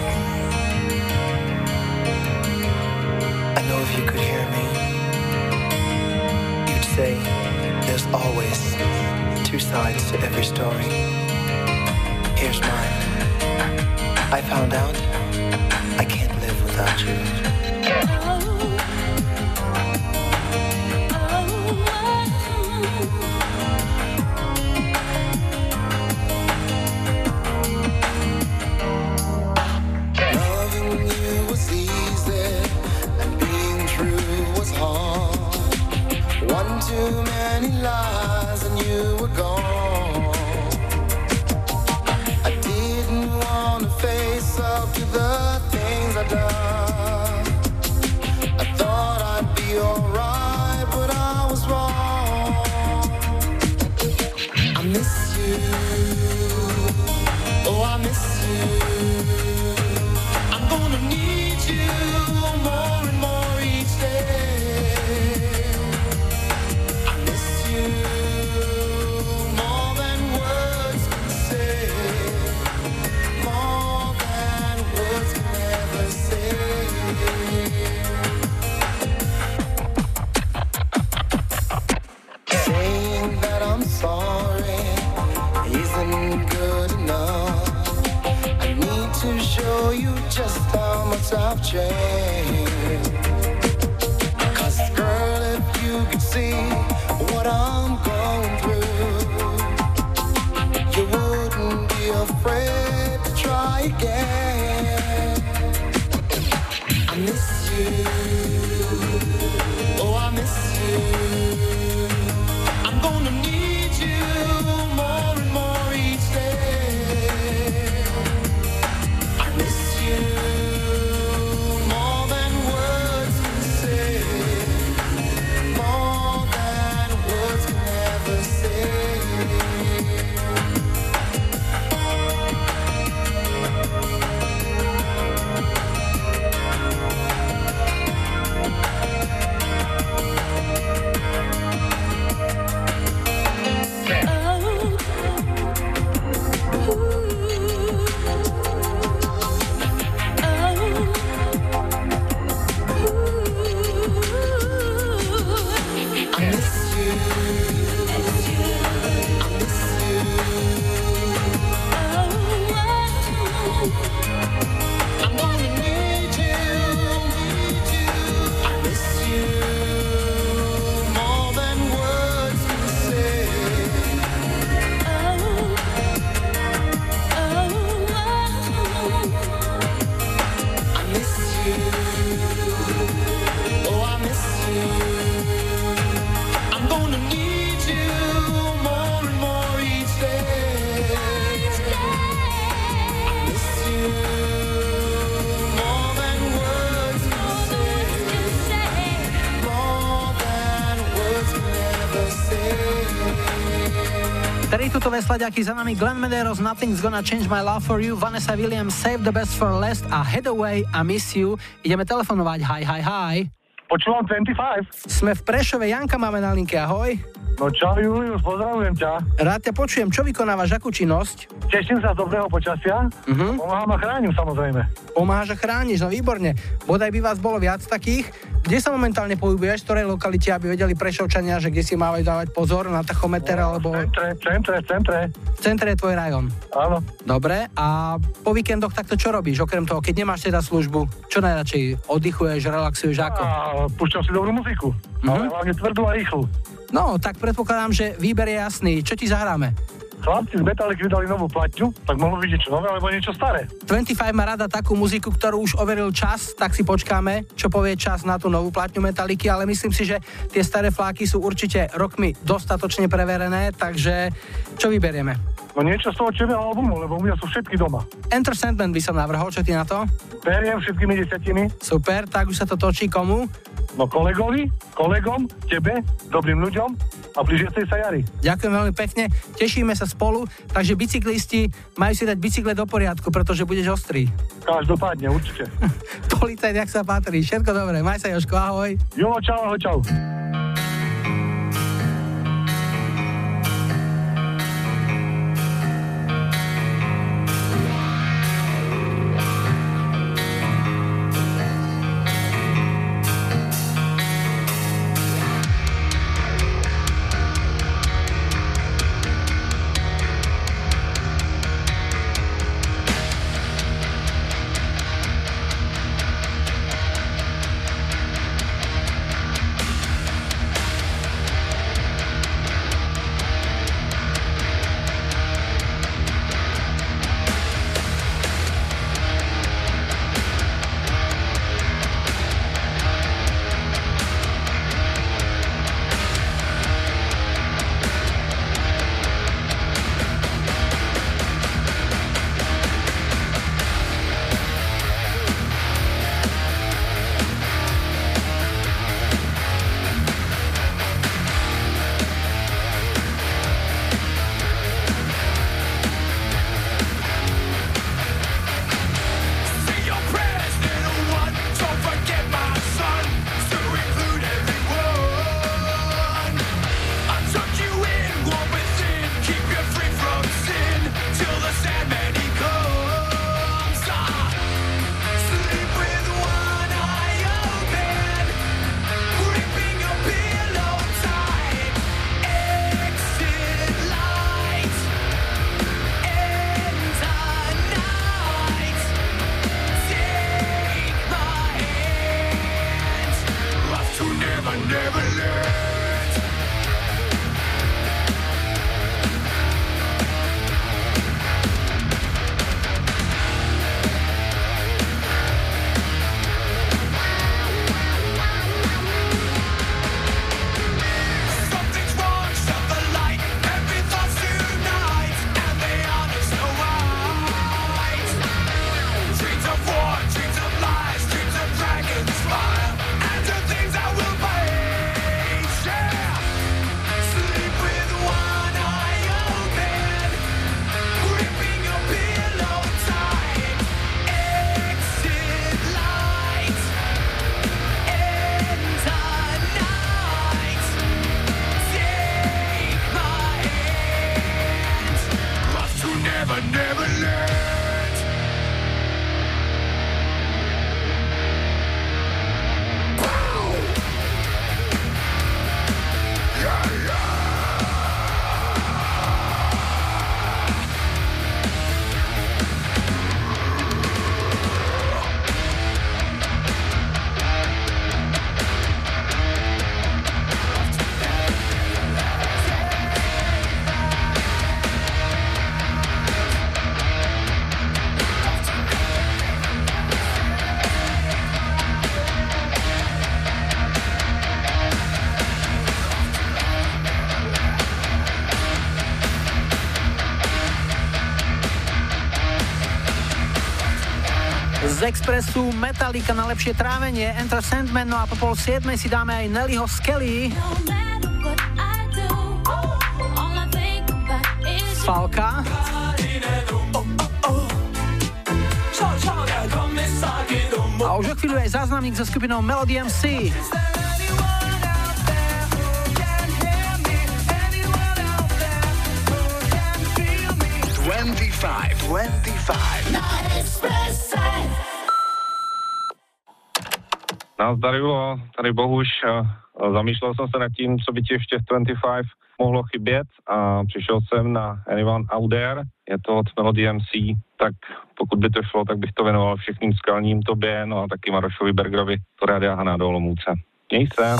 I know if you could hear me, you'd say there's always two sides to every story. Here's mine. I found out I can't live without you. Loving you was easy and being true was hard. One too many lies and you were gone. I didn't want to face up to the things I've done. I thought I'd be alright, but I was wrong. I miss you. Oh, I miss you. I'm gonna need you more and more each day. I miss you more than words can say, more than words can ever say. Saying that I'm sorry isn't good enough. I need to show you just how much I've changed. 'Cause girl, if you could see what I'm going through, you wouldn't be afraid to try again. I miss you. Oh, I miss you. I'm gonna need you more and more each day. I miss you more than words can say, more than words can ever say. Tritutové slaďaky za nami Glenn Medeiros, Nothing's Gonna Change My Love For You, Vanessa Williams, Save the Best for Last a Head Away a Miss You. Ideme telefonovať. Hi. Počúvam 25. Sme v Prešove, Janka máme na linke, ahoj. No čau Julius, pozdravujem ťa. Rád ťa počujem, čo vykonávaš, akú činnosť? Teším sa z dobrého počasia. Pomáham a chránim samozrejme. Pomáhaš a chrániš, no výborne. Bodaj by vás bolo viac takých. Kde sa momentálne pohybuješ, v ktorej lokalite, aby vedeli Prešovčania, že kde si mávajú dávať pozor na tachometer, alebo... V centre. V centre je tvoj rajón. Áno. Dobre, a po víkendoch takto čo robíš, okrem toho, keď nemáš teda službu? Čo najradšej? Oddychuješ, relaxuješ, ako? Púšťam si dobrú muziku, ale hlavne tvrdú a rýchlu. No, tak predpokladám, že výber je jasný. Čo ti zahráme? Chlapci z Metallic vydali novú platňu, tak mohlo byť niečo nové, alebo niečo staré. 25 má rada takú muziku, ktorú už overil čas, tak si počkáme, čo povie čas na tú novú platňu Metalliky, ale myslím si, že tie staré fláky sú určite rokmi dostatočne preverené, takže čo vyberieme? No niečo z toho černého albumu, lebo u mňa sú všetky doma. Enter Sandman by som navrhol, čo ty na to? Beriem všetkými 10. Super, tak už sa to točí komu? No kolegom, tebe, dobrým ľuďom a blížiacej sa jari. Ďakujem veľmi pekne, tešíme sa spolu, takže bicyklisti majú si dať bicykle do poriadku, pretože budeš ostrý. Každopádne, určite. Policajt, jak sa patrí, všetko dobré, maj sa Jožko, ahoj. Julo, čau. never, never learned. Z Expressu Metallica na lepšie trávenie, Enter Sandman, no a po 6:30 si dáme aj Nellyho Skelly. Falka. A už o chvíľu aj záznamník so skupinou Melody MC. 25 na Expresse. Nazdar, Julo, tady Bohuš. Zamýšlel jsem se nad tím, co by ti ještě v 25 mohlo chybět a přišel jsem na Anyone Out There, je to od Melody MC, tak pokud by to šlo, tak bych to věnoval všechným skalním tobě, no a taky Marošovi Bergerovi, to Rádia Hana do Olomouce. Měj se.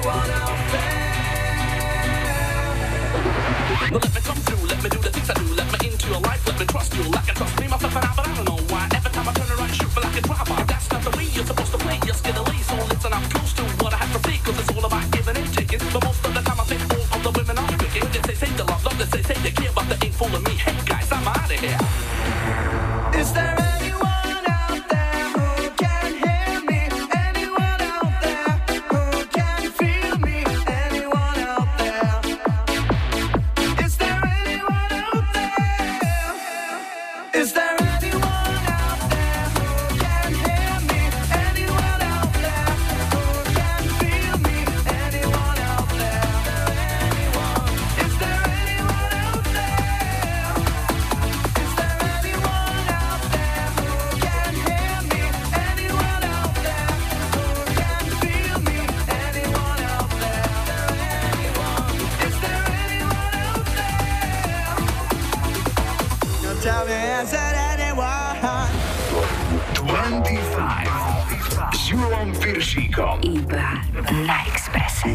anyone out there? Now let me come through, let me do the things I do, let me into your life, let me trust you, like I trust me myself and I, but I don't know why. Every time I turn around, shoot me like a driver. That's not the way you're supposed to play, you're scared of lace. So listen, I'm close to what I have to say, cause it's all about giving and taking. But most of the time I think all of the women are wicked. When they say they love, they say they care, but they ain't fooling me. Hey guys, I'm out of here. Is there anyone out there who can hear me? Anyone out there who can feel me? Anyone out there? Is there anyone out there? Is there anyone out there who can hear me? Anyone out there who can feel me? Anyone out there? Is there anyone out there? Is there anyone out there who can hear me? Anyone out there who can feel me? Anyone out there? Is there anyone out there? Now tell me, is there anyone? 25 s Julom Piršíkom. Iba na Expresse.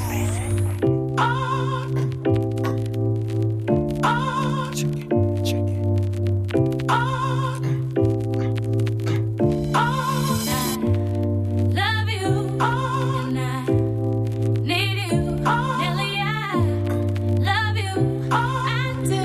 Love you, and I need you. Nelly, I love you. I do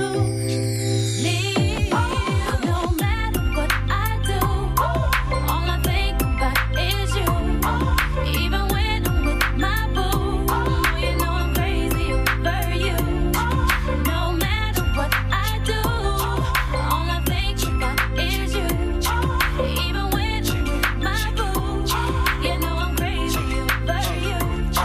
need you. No matter what I do, all I think about is you. Even when I'm with my boo, you know I'm crazy over you. No matter what I do, all I think about is you. Even when I'm with my boo, you know I'm crazy over you.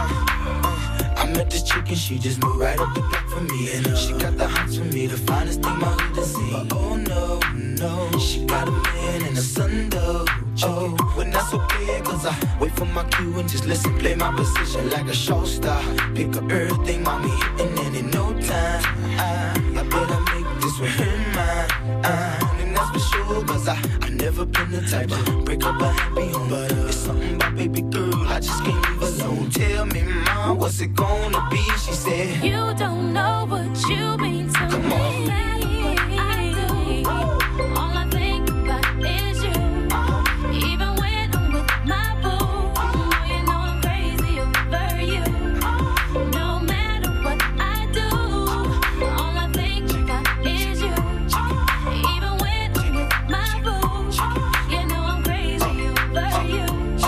I met this chick and she just moved right up the block for me. And she got the hots for me, the finest thing my hood has seen. But oh no, no, she got a man and a son though. Oh, when that's okay, cause I wait for my cue and just listen, play my position like a show star. Pick up everything, mommy, and in no time, I better make this one her mine. And that's for sure, cause I never been the type to break up a happy home. But it's something about baby girl, I just can't leave alone. Tell me, mom, what's it gonna be? She said, You don't know what you mean to Come me. on. I do. All I think about is you. Even when I'm with my boo, you know I'm crazy over you. No matter what I do, all I think about is you. Even when I'm with my boo, you know I'm crazy over you.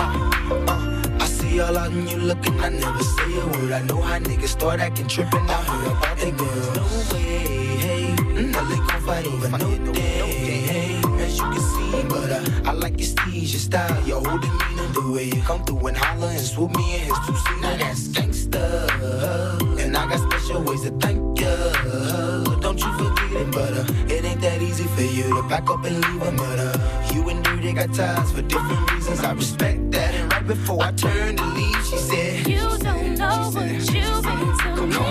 I see all out and you looking, I never say a word. I know how niggas start acting trippin'. I heard about the girls. No way, hey, Nelly gon' fight over no day, hey. As you can see, but I like your steez, your style, your whole demeanor, the way you come through and holler and swoop me in his two-seater. Now that's gangsta, and I got special ways to thank ya. Don't you forget it, but it ain't that easy for you to back up and leave him. But you and Dirty got ties for different reasons. I respect that. And right before I turned to leave, she said, You don't know what you mean to me.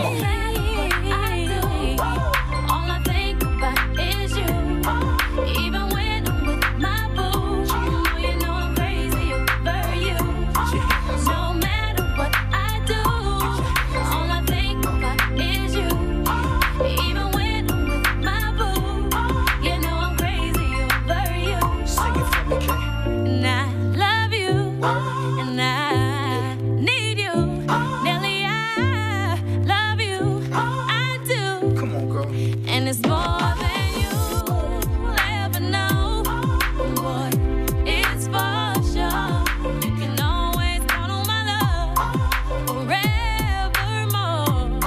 I do. All I think about is you. Even when I'm with my boo, you know I'm crazy over you. No matter what I do, all I think about is you. Even when I'm with my boo, you know I'm crazy over you. Sing it for me, Kay. And I love you, and I need you. Nelly, I love you. I do. Come on, girl. And it's more than you'll ever know. Boy, it's for sure. You can always count on my love forevermore.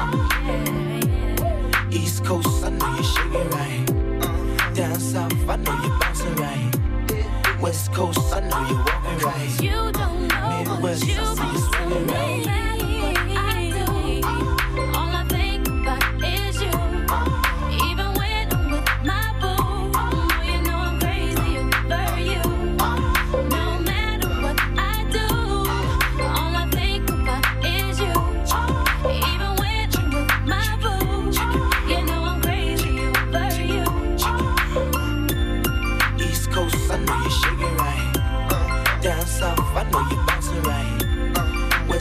East Coast, I know you're shaking right. Down south, I know you're bouncing right. West Coast, I know you're walking right. You don't know Midwest, what you I see you mean to swinging me. right. I do. All I think about is you. Even when I'm with my boo, you know I'm crazy over you. No matter what I do, all I think about is you. Even when I'm with my boo, you know I'm crazy over you. East Coast, I know you're shaking right. Down south, I know you're bouncing right.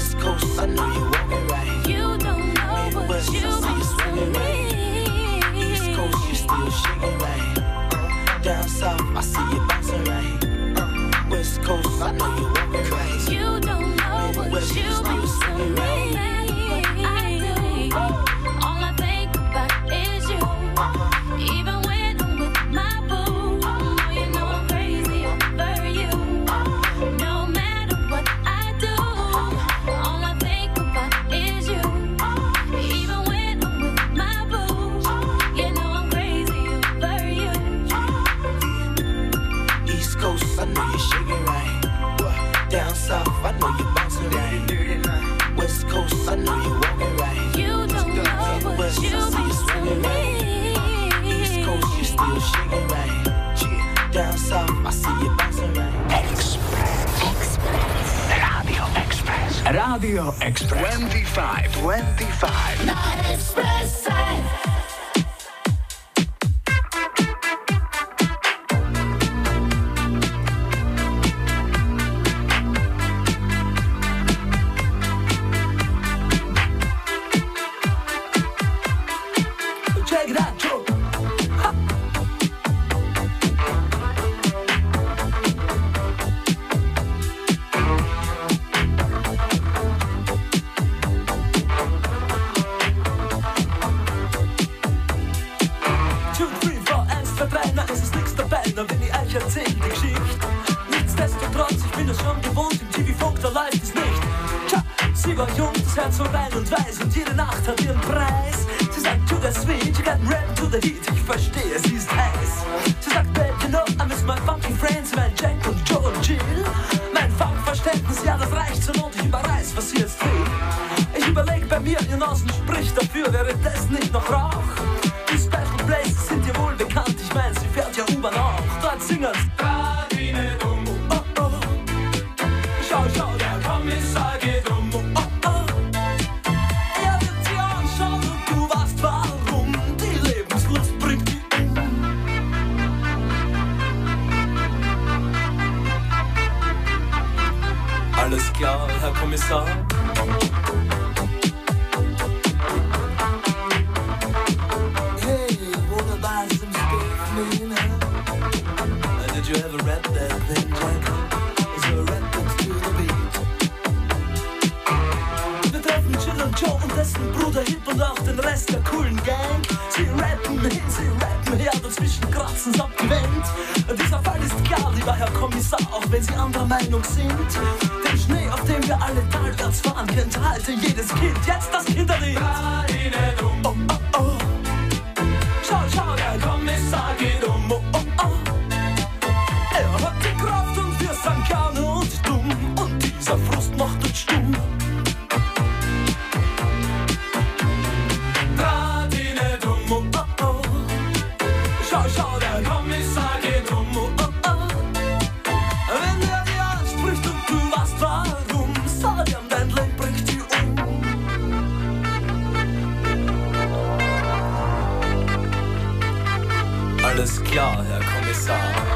Rádio Express 25 na Expresse. Check that joke. Wenn ich euch erzähl die Geschichte. Nichtsdestotrotz, ich bin es schon gewohnt, im TV-Funk, da läuft es nicht. Tja, sie war jung, das Herz so rein und weiß und jede Nacht hat ihren Preis. Sie sagt, to the sweet, you got rap to the heat, ich verstehe, sie ist heiß. Sie sagt, babe, you know, I miss my funky friends, mein Jack und Joe und Jill. Mein Funkverständnis, ja, das reicht zur Not, ich überreiß, was sie jetzt will. Ich überleg bei mir, ihr Nasen spricht dafür, wäre das nicht noch Rauch? Die Special Places sind dir wohl bekannt, ich mein, sie fährt ja U-Bahn auch. Dort singen's Radine dumm, oh oh. Schau, schau, der Kommissar geht um, oh oh. Er wird sie anschauen und du weißt warum. Die Lebenslust bringt die Alles klar, Herr Kommissar. Did you ever rap that thing, Jack? So rap it to the beat. Wir treffen Jill und Joe und dessen Bruder Hip und auch den Rest der coolen Gang. Sie rappen her, dazwischen kratzen's ab die Wand. Dieser Fall ist klar, lieber Herr Kommissar, auch wenn Sie anderer Meinung sind. Den Schnee, auf dem wir alle talwärts fahren, kennt halte jedes Kind. Jetzt das Kinderlied. Oh, oh, oh. Schau, schau, der Kommissar geht um, oh, oh, oh. Er hat die Kraft und wir sind gerne und dumm. Und dieser Frust macht uns stumm. Draht ihn nicht um, oh, oh, oh. Schau, schau, der Kommissar geht um, oh, oh, oh. Wenn er dir anspricht und du weißt warum, sag ihm, dein Leben bringt dich um. Alles klar, Herr Kommissar.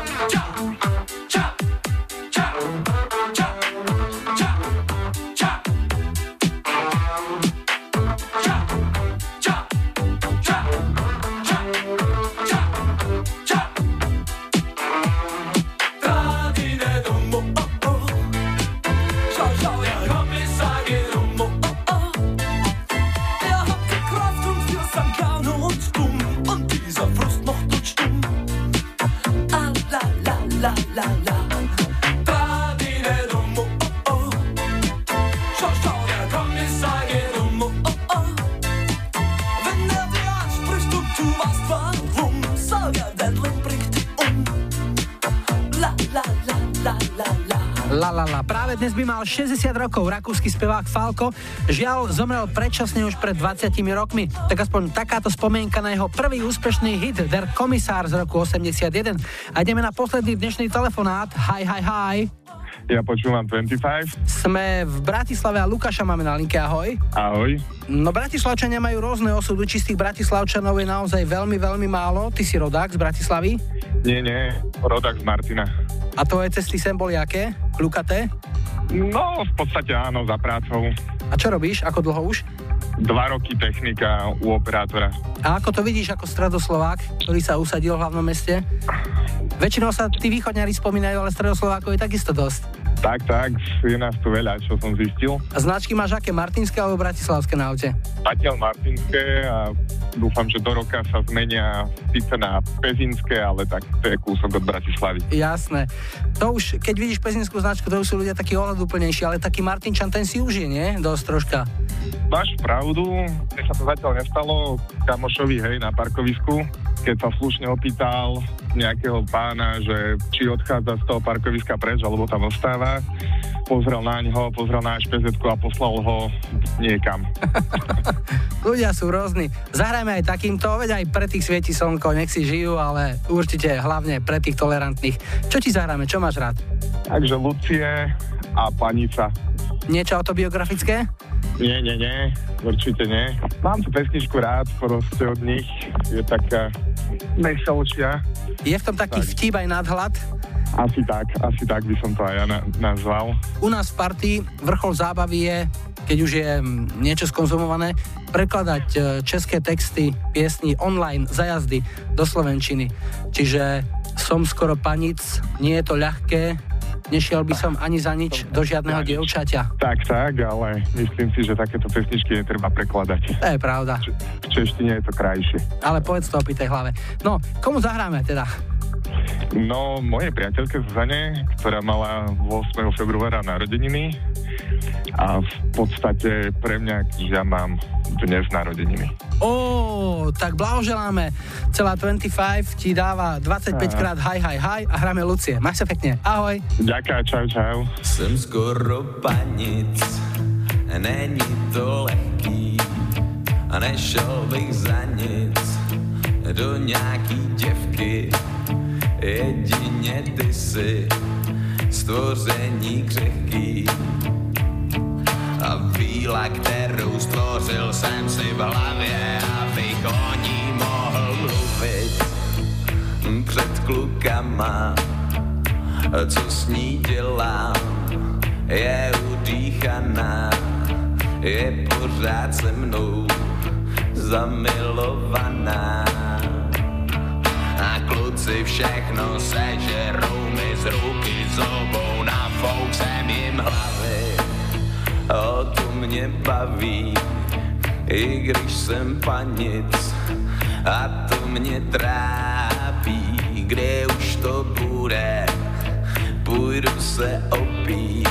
Dnes by mal 60 rokov rakúsky spevák Falco. Žiaľ, zomrel predčasne už pred 20 rokmi. Tak aspoň takáto spomienka na jeho prvý úspešný hit Der Kommissar z roku 81. A ideme na posledný dnešný telefonát. Hi. Ja počúvam 25. Sme v Bratislave a Lukáša máme na linke. Ahoj. Ahoj. No, Bratislavčania majú rôzne osudy. Čistých Bratislavčanov je naozaj veľmi, veľmi málo. Ty si rodák z Bratislavy? Nie, rodák z Martina. A tvoje cesty sem boli aké? Kľukaté? No, v podstate áno, za prácou. A čo robíš? Ako dlho už? 2 roky technika u operátora. A ako to vidíš ako stredoslovák, ktorý sa usadil v hlavnom meste? Väčšinou sa tí východňari spomínajú, ale stredoslovákov je takisto dosť. Tak, je nás tu veľa, čo som zistil. A značky máš aké? Martinské alebo bratislavské na aute? Zatiaľ martinské a dúfam, že do roka sa zmenia síce na pezinské, ale tak to je kúsok od Bratislavy. Jasné. To už, keď vidíš pezinskú značku, to už sú ľudia takí ohľaduplnejší, ale taký Martinčan, ten si užije, nie? Dosť troška. Máš pravdu, mne sa to zatiaľ nestalo kamošovi, hej, na parkovisku, keď sa slušne opýtal nejakého pána, že či odchádza z toho parkoviska preč, alebo tam ostáva. Pozrel na ňoho, pozrel na špezetku a poslal ho niekam. Ľudia sú rôzni. Zahrajme aj takýmto, veď aj pre tých svieti slnko, nech si žijú, ale určite hlavne pre tých tolerantných. Čo ti zahráme, čo máš rád? Takže Lucie a Panica. Niečo autobiografické? Nie, určite nie. Mám tú pesničku rád, proste od nich je taká veselšia. Je v tom taký vtip aj nadhľad? Asi tak by som to aj ja nazval. U nás v partii vrchol zábavy je, keď už je niečo skonzumované, prekladať české texty piesní online za jazdy do slovenčiny. Čiže som skoro panic, nie je to ľahké, nešiel by som ani za nič do žiadneho dievčaťa. Tak, ale myslím si, že takéto pesničky netreba prekladať. To je pravda. V češtine je to krajšie. Ale povedz to o pitej hlave. No, komu zahráme teda? No, mojej priateľke Zuzane, ktorá mala 8. februára narodeniny a v podstate pre mňa, že ja mám dnes narodeniny. Tak blahoželáme. Celá 25 ti dáva 25 krát hi a hráme Lucie. Maj sa pekne. Ahoj. Ďakujem, čau. Jsem skoro panic, není to lehký a nešel bych za nic do nějaký děvky. Jedině ty si stvoření křehký a víla, kterou stvořil jsem si v hlavě, abych o ní mohl mluvit před klukama. Co s ní dělám, je udýchaná, je pořád se mnou zamilovaná. A kluci všechno sežerou mi z ruky z obou, nafouk jsem jim hlavy. O to mě baví, i když jsem panic, a to mě trápí. Kde už to bude, půjdu se opít.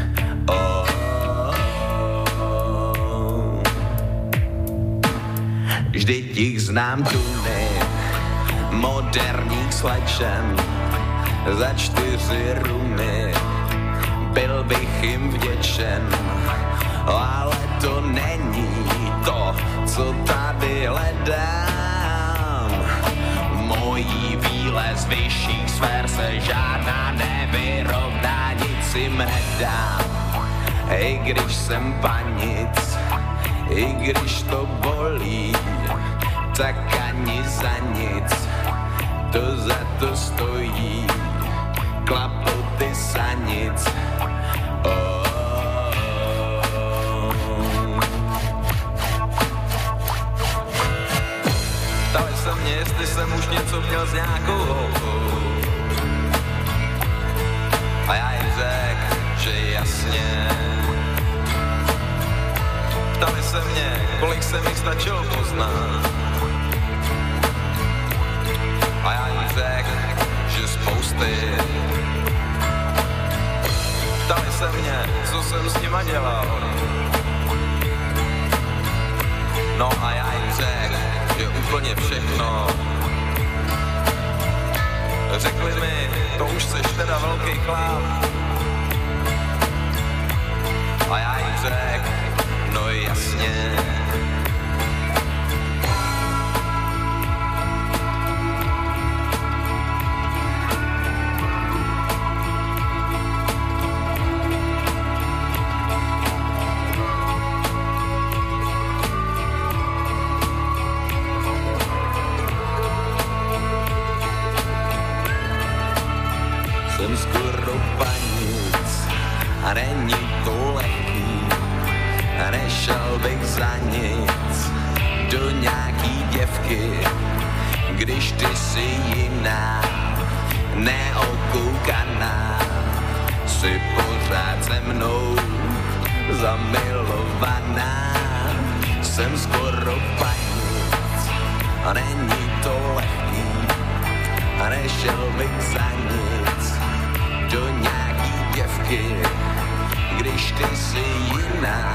Vždyť jich znám tuny moderních slečen za 4 rumy. Byl bych jim vděčen, ale to není to, co tady hledám. Mojí víle z vyšších sfér se žádná nevyrovná, nic jim nedám. I když jsem panic, i když to bolí, tak ani za nic to za to stojí. Klapoty sanic. Ptali se mě, jestli jsem už něco měl s nějakou holkou. A já jim řekl, že jasně. Ptali se mě, kolik se mi stačilo poznat. A já jim řekl, že spousty. Ptali se mě, co jsem s nima dělal. No a já jim řekl, že úplně všechno. Řekli mi, to už seš teda velký chlap. A já jim řekl, no jasně. Jsem skoro panic a není to lehký a nešel bych za nic do nějaký děvky, když ty jsi jiná, neokoukaná, jsi pořád se mnou zamilovaná. Jsem skoro panic a není to lehký a nešel bych za nic do nějaký děvky, když ty jsi jiná,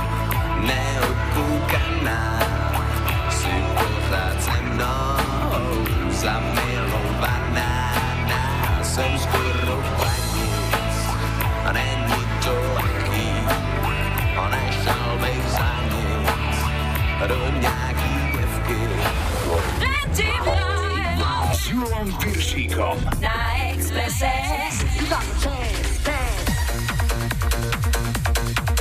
neokoukaná, jsi pořád se mnou zamilovaná. Jsem skoro panic a není to lehký a nešel bych za nic do nějaký děvky. S Julom Piršíkom Na Expresse.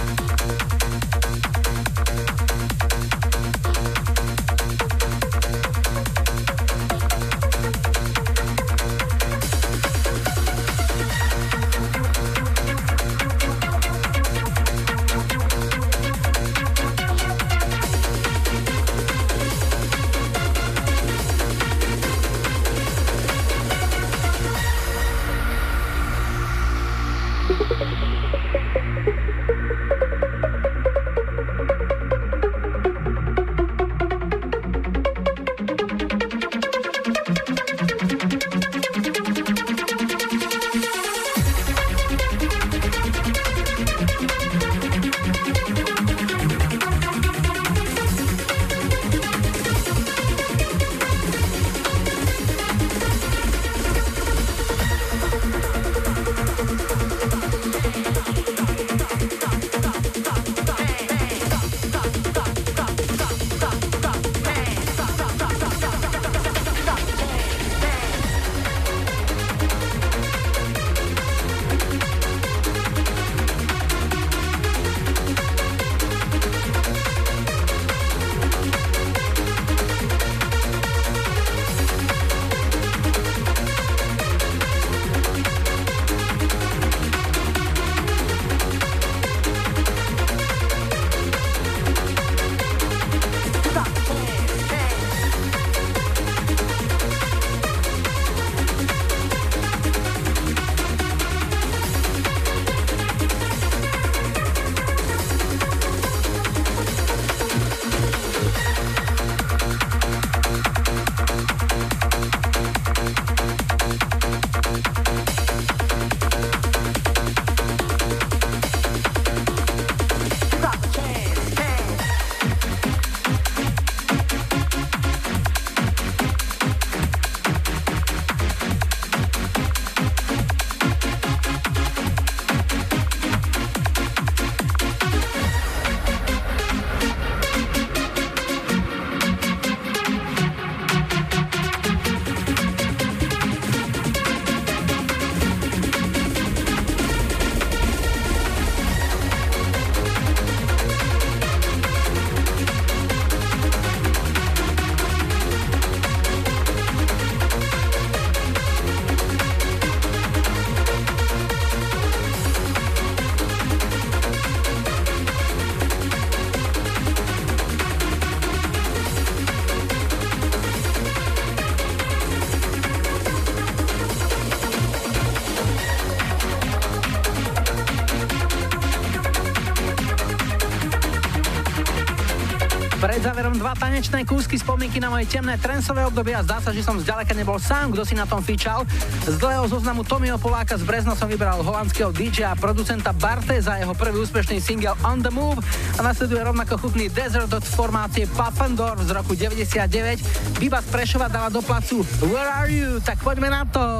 Pred záverom 2 tanečné kúsky spomienky na moje temné trensové obdobie a zdá sa, že som zďaleka nebol sám, kto si na tom fičal. Z dlhého zoznamu Tommyho Poláka z Brezna som vybral holandského DJ a producenta Barte za jeho prvý úspešný single On The Move a nasleduje rovnako chutný Desert od formácie Puffendorf z roku 99. Biba z Prešova dala do placu Where Are You? Tak poďme na to!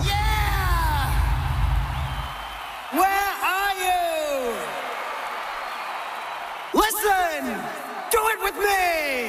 Where are you? Listen! Do it with me!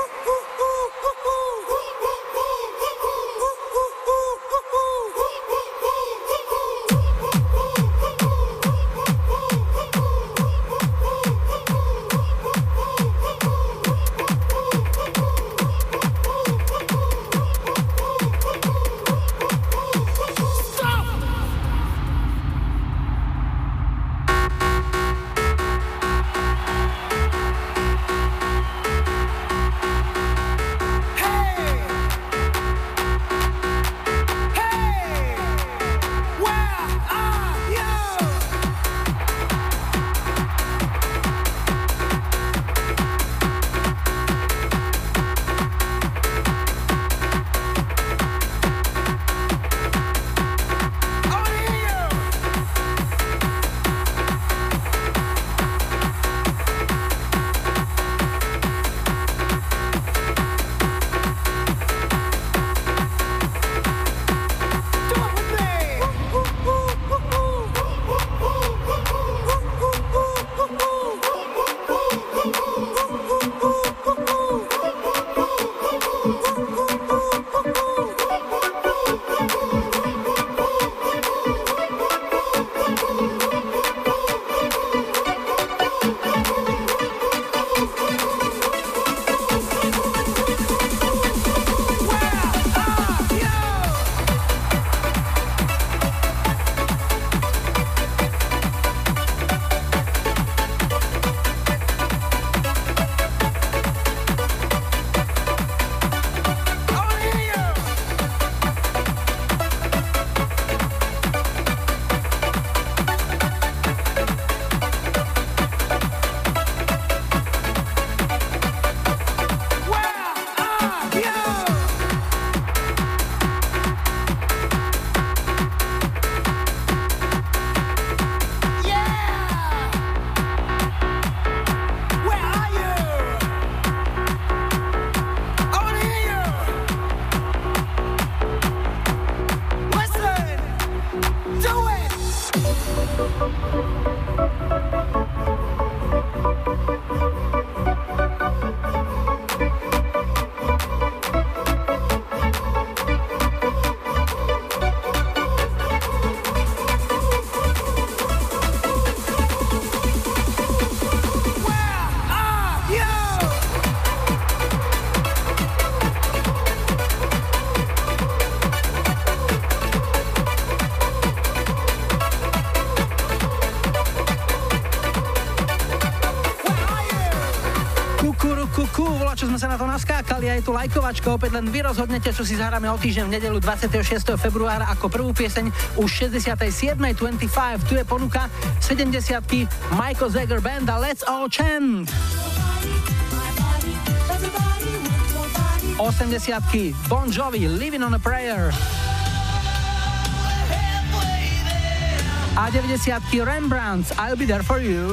Čo sme sa na to naskákali a je tu lajkovačka, opäť len vy rozhodnete, čo si zahráme o týždeň v nedeľu 26. februára ako prvú pieseň už 67.25. Tu je ponuka 70-ky Michael Zager Band a Let's All Chant. 80-ky Bon Jovi Living on a Prayer. A 90-ky Rembrandts I'll Be There For You.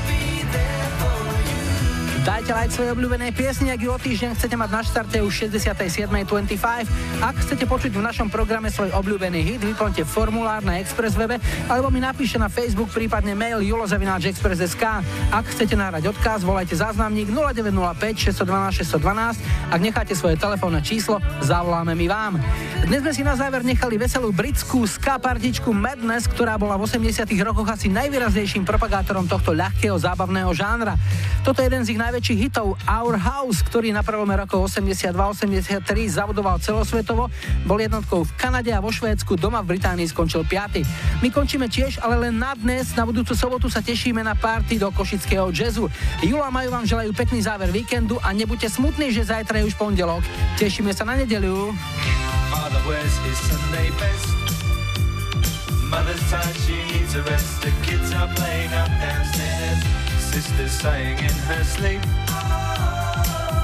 Dajte like svojej obľúbenej piesni, ak ju o týždeň chcete mať na štarte už 67.25. Ak chcete počuť v našom programe svoj obľúbený hit, vyplňte formulár na Express webe alebo mi napíšte na Facebook, prípadne mail julo@express.sk. Ak chcete nahrať odkaz, volajte záznamník 0905 612 612. Ak necháte svoje telefónne číslo, zavoláme my vám. Dnes sme si na záver nechali veselú britskú ska partičku Madness, ktorá bola v 80 rokoch asi najvýraznejším propagátorom tohto ľahkého zábavného žánra. Toto je jeden z ich najväčších hitov Our House, ktorý na prelome rokov 82-83 zabudoval celosvetovo, bol jednotkou v Kanade a vo Švédsku, doma v Británii skončil 5. My končíme tiež, ale len na dnes. Na budúcu sobotu sa tešíme na party do košického jazzu. Julo a Maju vám želajú pekný záver víkendu a nebuďte smutní, že zajtra je už pondelok. Tešíme sa na nedeľu. Father wears his Sunday best. Mother's tired, she needs a rest. The kids are playing up downstairs. Sister's sighing in her sleep.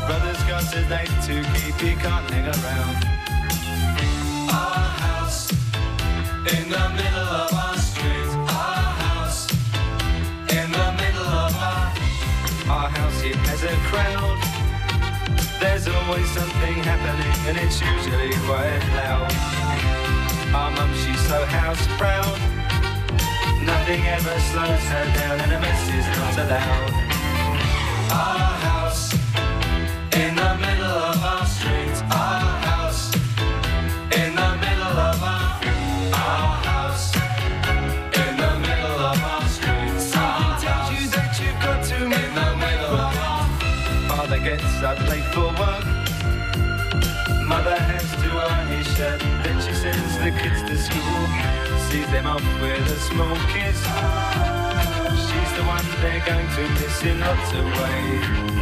Brother's got a date to keep, he can't hang around. Our house in the middle of our street. Our house in the middle of our house, it has a crowd. There's always something happening and it's usually quite loud. Our mum, she's so house proud. Nothing ever slows her down and a mess is not allowed. Our house in the middle of our street. Our house in the middle of our house in the middle of our street. Something tells you that you've got to in the middle of our. Father gets up late for work. Mother has to iron his shirt. Then she sends the kids to school. Sees them off with a small kiss. She's the one they're going to miss in lots of ways.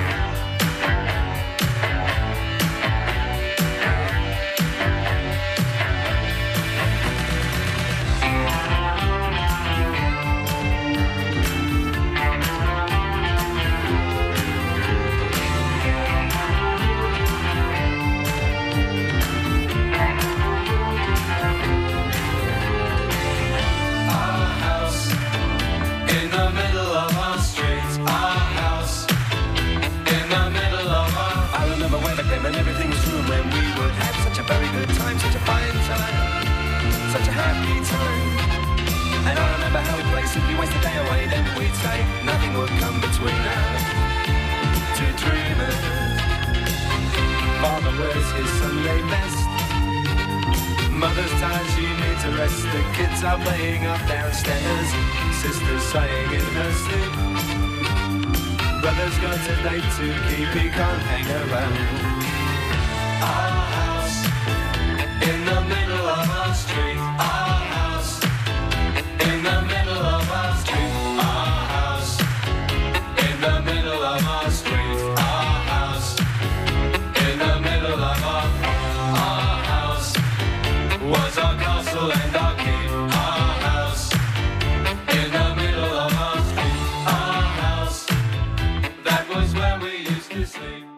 And everything was true when we would have such a very good time, such a fine time, such a happy time. And I remember how we'd play, simply waste the day away. Then we'd say nothing would come between us, two dreamers. Father wears his Sunday best. Mother's tired, she needs a rest. The kids are playing up downstairs. Sister's sighing in her sleep. Brother's got a date to keep, he can't hang around. Our house in the middle of our street. Our house in the middle of our street. Our house in the middle of our street. Our house in the middle of our house was our castle and our keep. Our house in the middle of our street. Our house, that was where we used to sleep.